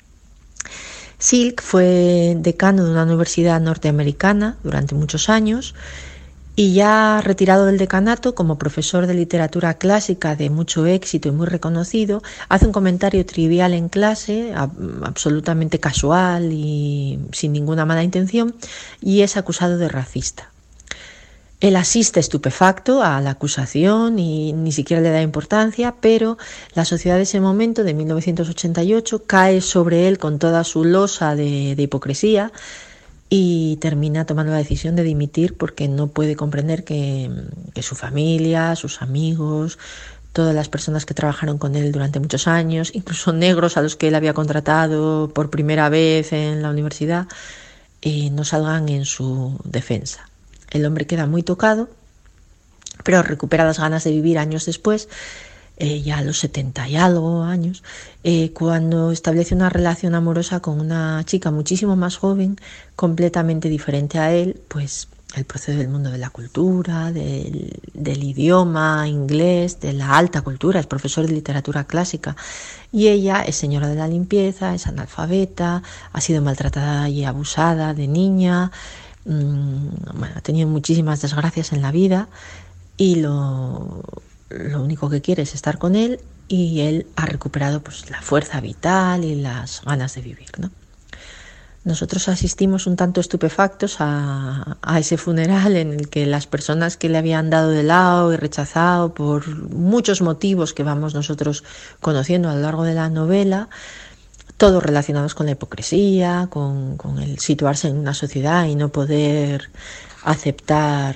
Silk fue decano de una universidad norteamericana durante muchos años y, ya retirado del decanato, como profesor de literatura clásica de mucho éxito y muy reconocido, hace un comentario trivial en clase, absolutamente casual y sin ninguna mala intención, y es acusado de racista. Él asiste estupefacto a la acusación y ni siquiera le da importancia, pero la sociedad de ese momento, de mil novecientos ochenta y ocho, cae sobre él con toda su losa de, de hipocresía y termina tomando la decisión de dimitir porque no puede comprender que, que su familia, sus amigos, todas las personas que trabajaron con él durante muchos años, incluso negros a los que él había contratado por primera vez en la universidad, eh, no salgan en su defensa. El hombre queda muy tocado, pero recupera las ganas de vivir años después, eh, ya a los setenta y algo años, eh, cuando establece una relación amorosa con una chica muchísimo más joven, completamente diferente a él. Pues él procede del mundo de la cultura, del, del idioma inglés, de la alta cultura, es profesor de literatura clásica, y ella es señora de la limpieza, es analfabeta, ha sido maltratada y abusada de niña. Bueno, ha tenido muchísimas desgracias en la vida y lo, lo único que quiere es estar con él, y él ha recuperado pues la fuerza vital y las ganas de vivir, ¿no? Nosotros asistimos un tanto estupefactos a, a ese funeral en el que las personas que le habían dado de lado y rechazado por muchos motivos que vamos nosotros conociendo a lo largo de la novela, todos relacionados con la hipocresía, con, con el situarse en una sociedad y no poder aceptar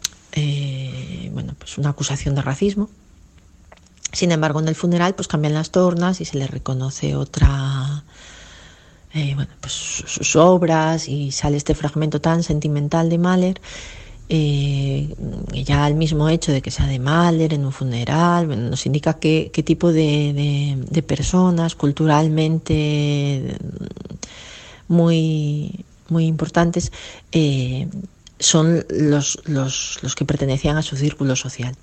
eh, bueno, pues una acusación de racismo. Sin embargo, en el funeral pues cambian las tornas y se le reconoce otra, eh, bueno, pues sus obras, y sale este fragmento tan sentimental de Mahler. Eh, ya el mismo hecho de que sea de Mahler en un funeral, bueno, nos indica qué, qué tipo de, de, de personas culturalmente muy, muy importantes eh, son los, los, los que pertenecían a su círculo social.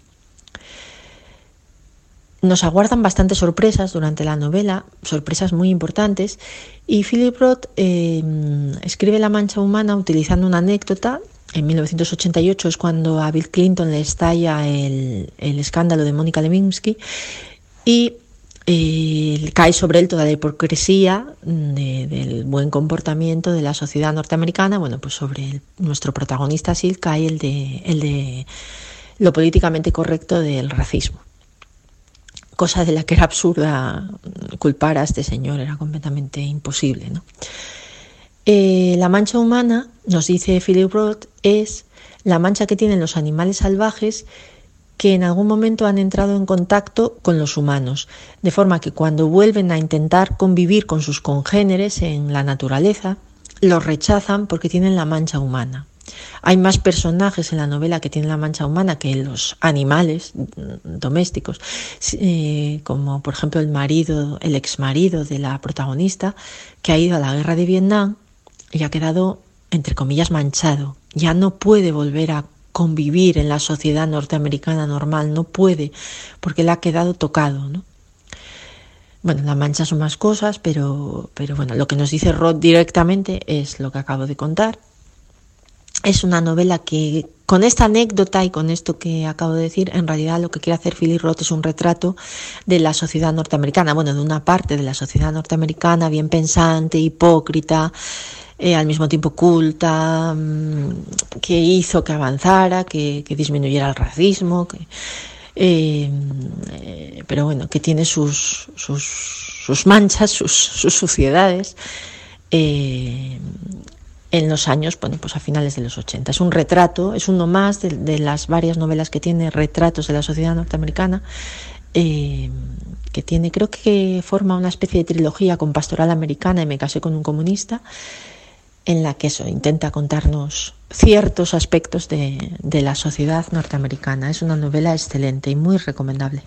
Nos aguardan bastantes sorpresas durante la novela, sorpresas muy importantes, y Philip Roth eh, escribe La Mancha Humana utilizando una anécdota. En mil novecientos ochenta y ocho es cuando a Bill Clinton le estalla el, el escándalo de Mónica Lewinsky, y eh, cae sobre él toda la hipocresía de, del buen comportamiento de la sociedad norteamericana. Bueno, pues sobre el, nuestro protagonista Sid cae el de, el de lo políticamente correcto del racismo. Cosa de la que era absurda culpar a este señor, era completamente imposible, ¿no? Eh, la mancha humana, nos dice Philip Roth, es la mancha que tienen los animales salvajes que en algún momento han entrado en contacto con los humanos, de forma que cuando vuelven a intentar convivir con sus congéneres en la naturaleza, los rechazan porque tienen la mancha humana. Hay más personajes en la novela que tienen la mancha humana que los animales domésticos, eh, como por ejemplo el marido, el exmarido de la protagonista, que ha ido a la guerra de Vietnam y ha quedado, entre comillas, manchado. Ya no puede volver a convivir en la sociedad norteamericana normal, no puede, porque le ha quedado tocado, ¿no? Bueno, la mancha son más cosas, pero, pero bueno, lo que nos dice Roth directamente es lo que acabo de contar. Es una novela que, con esta anécdota y con esto que acabo de decir, en realidad lo que quiere hacer Philip Roth es un retrato de la sociedad norteamericana, bueno, de una parte de la sociedad norteamericana bien pensante, hipócrita, eh, al mismo tiempo culta, mmm, que hizo que avanzara, que, que disminuyera el racismo, que, eh, eh, pero bueno, que tiene sus, sus, sus manchas, sus, sus suciedades, eh, en los años, bueno, pues a finales de los ochenta. Es un retrato, es uno más de, de las varias novelas que tiene, retratos de la sociedad norteamericana, eh, que tiene, creo que forma una especie de trilogía con Pastoral Americana y Me casé con un comunista, en la que eso intenta contarnos ciertos aspectos de, de la sociedad norteamericana. Es una novela excelente y muy recomendable.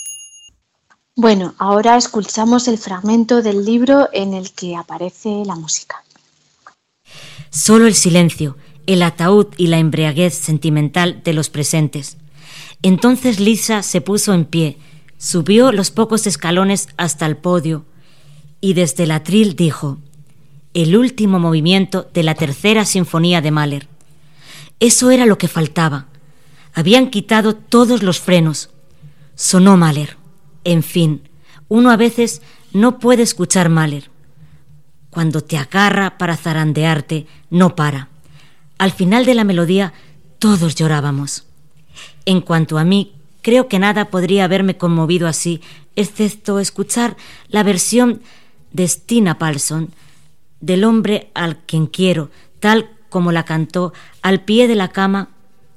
Bueno, ahora escuchamos el fragmento del libro en el que aparece la música. Solo el silencio, el ataúd y la embriaguez sentimental de los presentes. Entonces Lisa se puso en pie, subió los pocos escalones hasta el podio y desde el atril dijo: el último movimiento de la tercera sinfonía de Mahler. Eso era lo que faltaba. Habían quitado todos los frenos. Sonó Mahler. En fin, uno a veces no puede escuchar Mahler. Cuando te agarra para zarandearte, no para. Al final de la melodía, todos llorábamos. En cuanto a mí, creo que nada podría haberme conmovido así, excepto escuchar la versión de Stina Paulson, del hombre al quien quiero, tal como la cantó al pie de la cama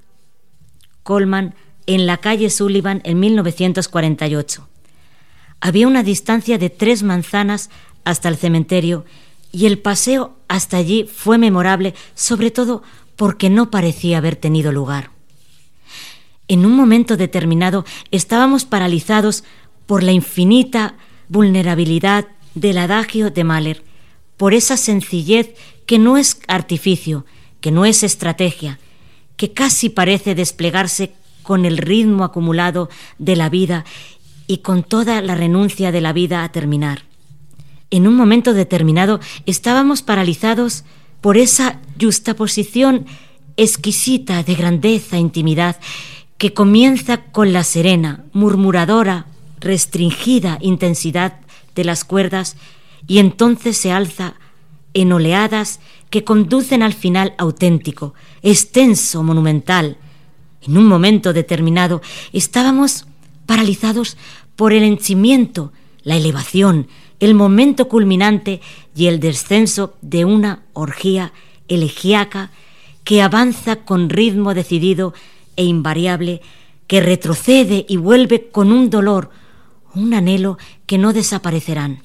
Coleman en la calle Sullivan en mil novecientos cuarenta y ocho. Había una distancia de tres manzanas hasta el cementerio y el paseo hasta allí fue memorable, sobre todo porque no parecía haber tenido lugar. En un momento determinado estábamos paralizados por la infinita vulnerabilidad del adagio de Mahler, por esa sencillez que no es artificio, que no es estrategia, que casi parece desplegarse con el ritmo acumulado de la vida y con toda la renuncia de la vida a terminar. En un momento determinado estábamos paralizados por esa yuxtaposición exquisita de grandeza e intimidad que comienza con la serena, murmuradora, restringida intensidad de las cuerdas y entonces se alza en oleadas que conducen al final auténtico, extenso, monumental. En un momento determinado estábamos paralizados por el henchimiento, la elevación, el momento culminante y el descenso de una orgía elegíaca que avanza con ritmo decidido e invariable, que retrocede y vuelve con un dolor, un anhelo que no desaparecerán.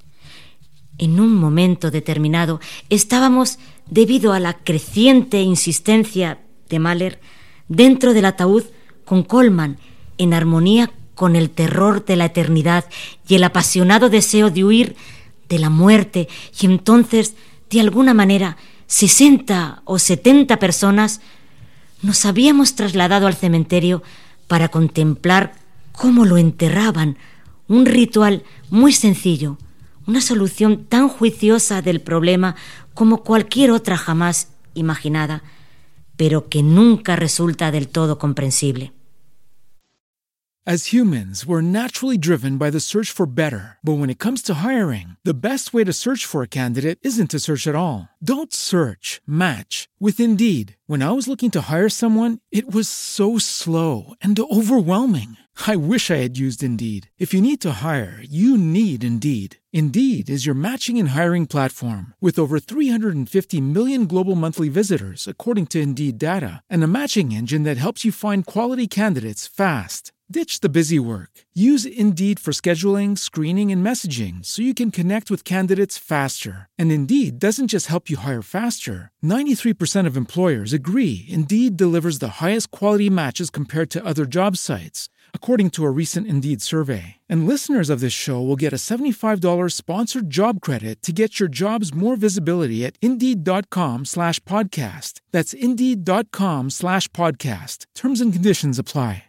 En un momento determinado estábamos, debido a la creciente insistencia de Mahler, dentro del ataúd con Coleman, en armonía con el terror de la eternidad y el apasionado deseo de huir de la muerte, y entonces, de alguna manera, sesenta o setenta personas nos habíamos trasladado al cementerio para contemplar cómo lo enterraban, un ritual muy sencillo, una solución tan juiciosa del problema como cualquier otra jamás imaginada, pero que nunca resulta del todo comprensible. As humans, we're naturally driven by the search for better. But when it comes to hiring, the best way to search for a candidate isn't to search at all. Don't search, match with Indeed. When I was looking to hire someone, it was so slow and overwhelming. I wish I had used Indeed. If you need to hire, you need Indeed. Indeed is your matching and hiring platform with over three hundred fifty million global monthly visitors, according to Indeed data, and a matching engine that helps you find quality candidates fast. Ditch the busy work. Use Indeed for scheduling, screening, and messaging so you can connect with candidates faster. And Indeed doesn't just help you hire faster. ninety-three percent of employers agree Indeed delivers the highest quality matches compared to other job sites, according to a recent Indeed survey. And listeners of this show will get a seventy-five dollars sponsored job credit to get your jobs more visibility at Indeed.com slash podcast. That's Indeed.com slash podcast. Terms and conditions apply.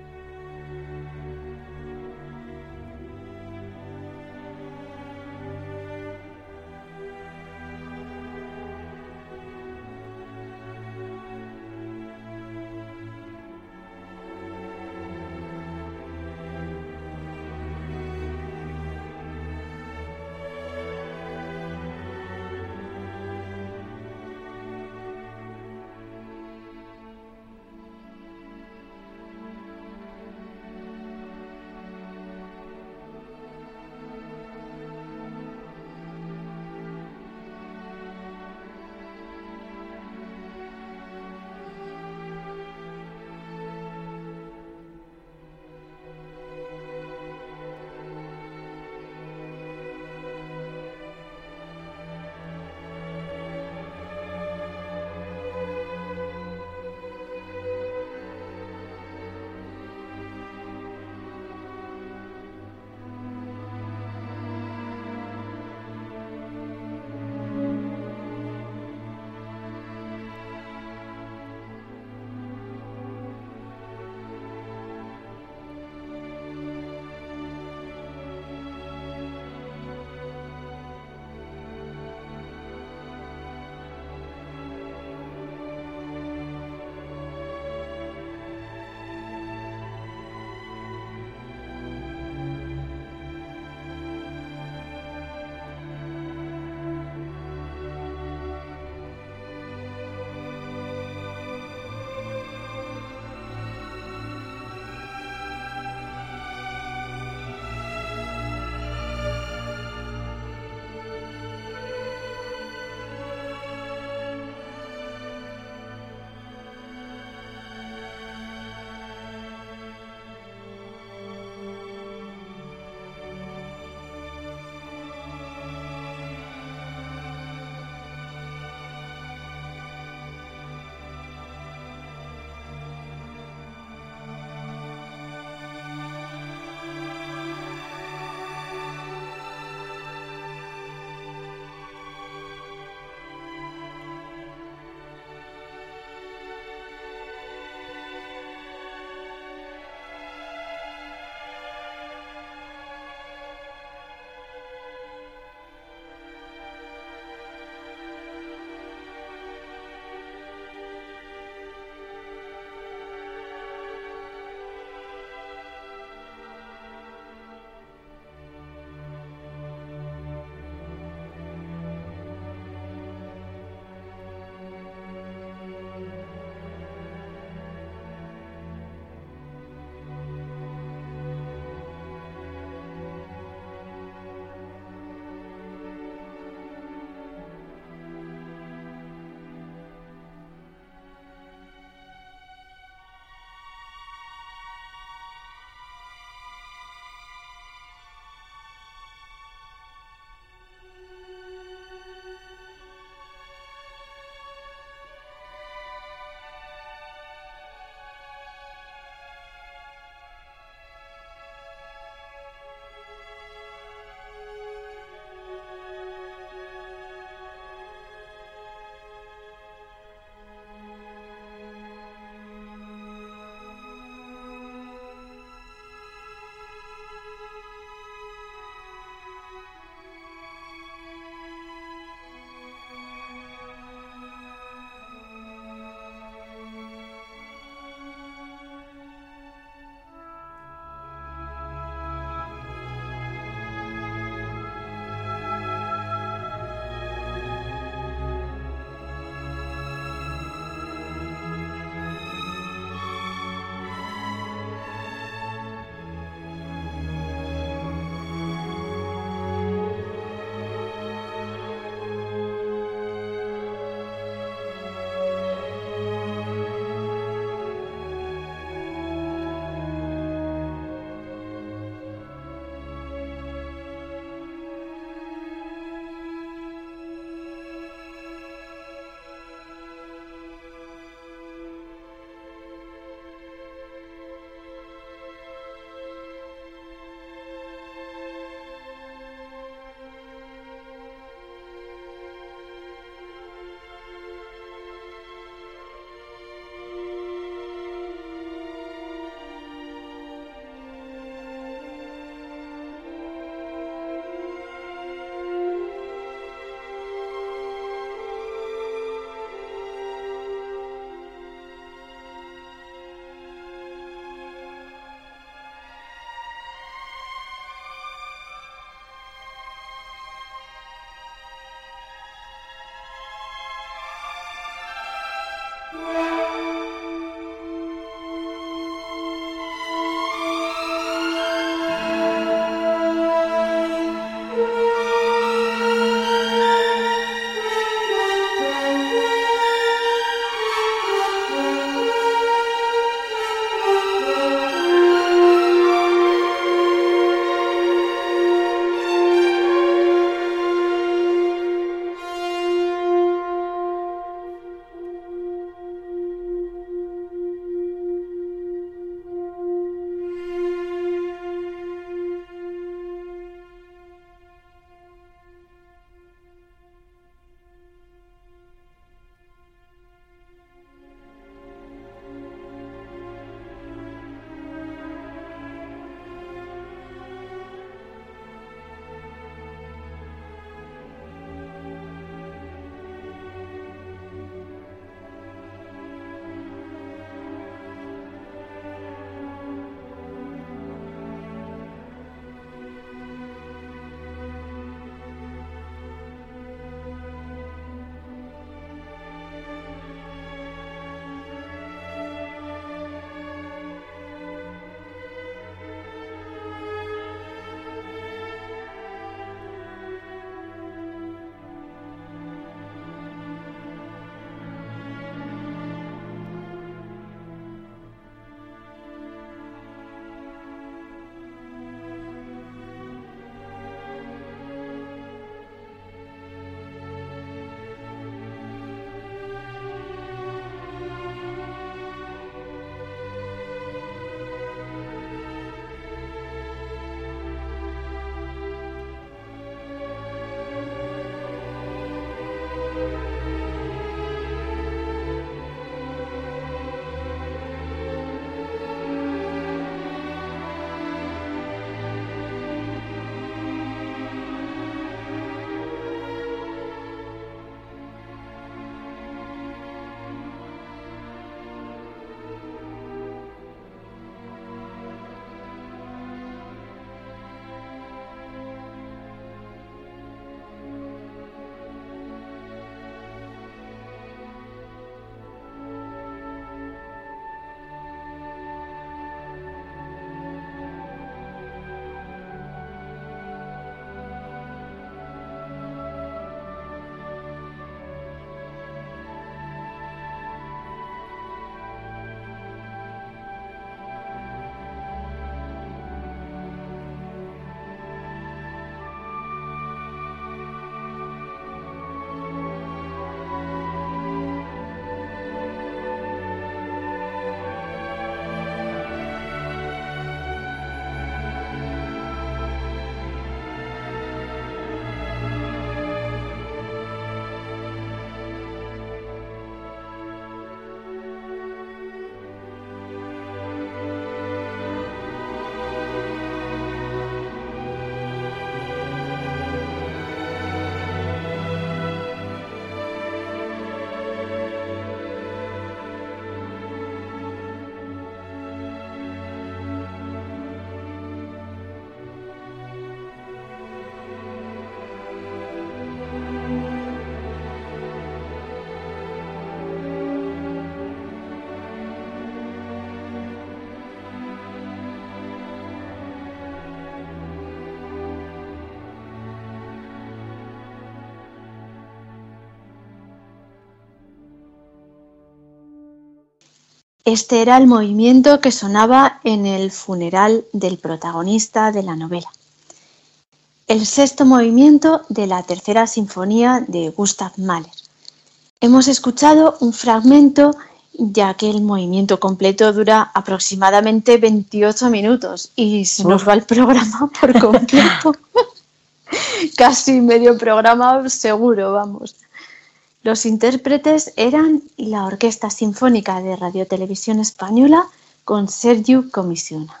Este era el movimiento que sonaba en el funeral del protagonista de la novela. El sexto movimiento de la tercera sinfonía de Gustav Mahler. Hemos escuchado un fragmento, ya que el movimiento completo dura aproximadamente veintiocho minutos y se nos va el programa por completo. Casi medio programa seguro, vamos. Los intérpretes eran la Orquesta Sinfónica de Radio Televisión Española con Sergiu Comissiona.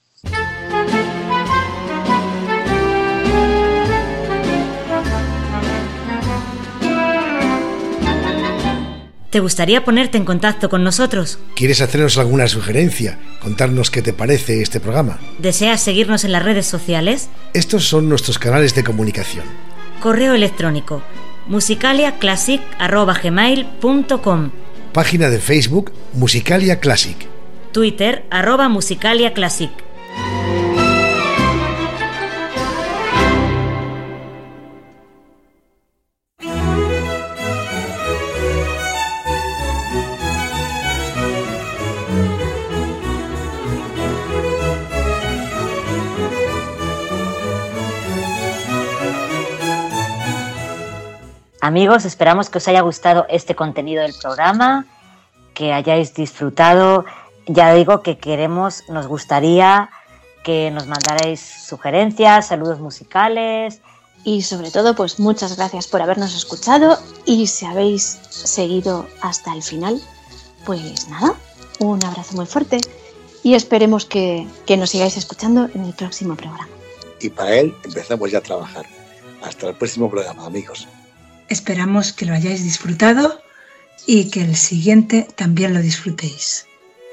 ¿Te gustaría ponerte en contacto con nosotros? ¿Quieres hacernos alguna sugerencia? ¿Contarnos qué te parece este programa? ¿Deseas seguirnos en las redes sociales? Estos son nuestros canales de comunicación. Correo electrónico musicaliaclassic arroba gmail punto com. Página de Facebook Musicalia Classic. Twitter arroba musicaliaclassic. Amigos, esperamos que os haya gustado este contenido del programa, que hayáis disfrutado. Ya digo que queremos, nos gustaría que nos mandarais sugerencias, saludos musicales. Y sobre todo, pues muchas gracias por habernos escuchado, y si habéis seguido hasta el final, pues nada, un abrazo muy fuerte y esperemos que, que nos sigáis escuchando en el próximo programa. Y para él empezamos ya a trabajar. Hasta el próximo programa, amigos. Esperamos que lo hayáis disfrutado y que el siguiente también lo disfrutéis.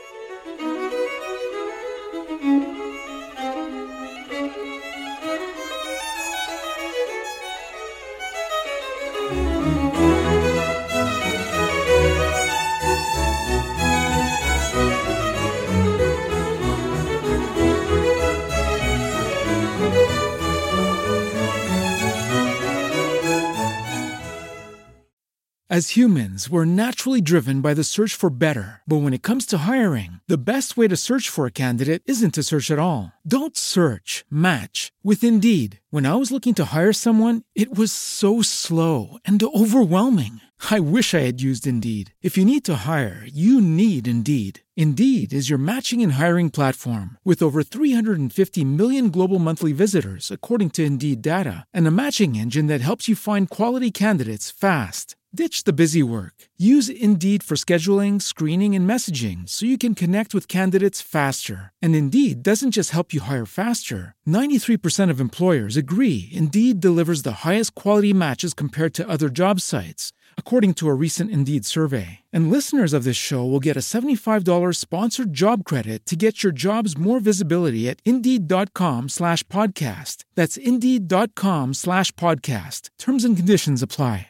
As humans, we're naturally driven by the search for better. But when it comes to hiring, the best way to search for a candidate isn't to search at all. Don't search, match with Indeed. When I was looking to hire someone, it was so slow and overwhelming. I wish I had used Indeed. If you need to hire, you need Indeed. Indeed is your matching and hiring platform with over three hundred fifty million global monthly visitors, according to Indeed data, and a matching engine that helps you find quality candidates fast. Ditch the busy work. Use Indeed for scheduling, screening, and messaging so you can connect with candidates faster. And Indeed doesn't just help you hire faster. ninety-three percent of employers agree Indeed delivers the highest quality matches compared to other job sites, according to a recent Indeed survey. And listeners of this show will get a seventy-five dollars sponsored job credit to get your jobs more visibility at Indeed.com slash podcast. That's Indeed.com slash podcast. Terms and conditions apply.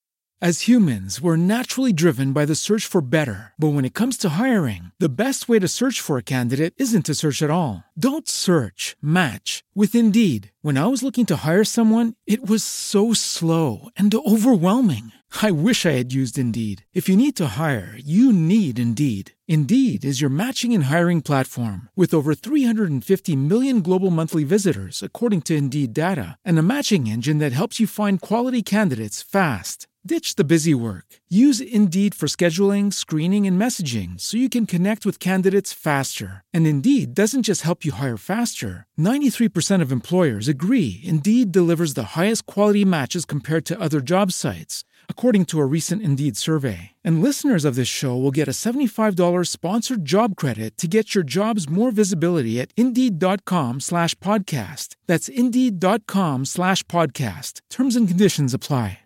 As humans, we're naturally driven by the search for better. But when it comes to hiring, the best way to search for a candidate isn't to search at all. Don't search, match with Indeed. When I was looking to hire someone, it was so slow and overwhelming. I wish I had used Indeed. If you need to hire, you need Indeed. Indeed is your matching and hiring platform with over three hundred fifty million global monthly visitors, according to Indeed data, and a matching engine that helps you find quality candidates fast. Ditch the busy work. Use Indeed for scheduling, screening, and messaging so you can connect with candidates faster. And Indeed doesn't just help you hire faster. ninety-three percent of employers agree Indeed delivers the highest quality matches compared to other job sites, according to a recent Indeed survey. And listeners of this show will get a seventy-five dollars sponsored job credit to get your jobs more visibility at Indeed.com slash podcast. That's Indeed.com slash podcast. Terms and conditions apply.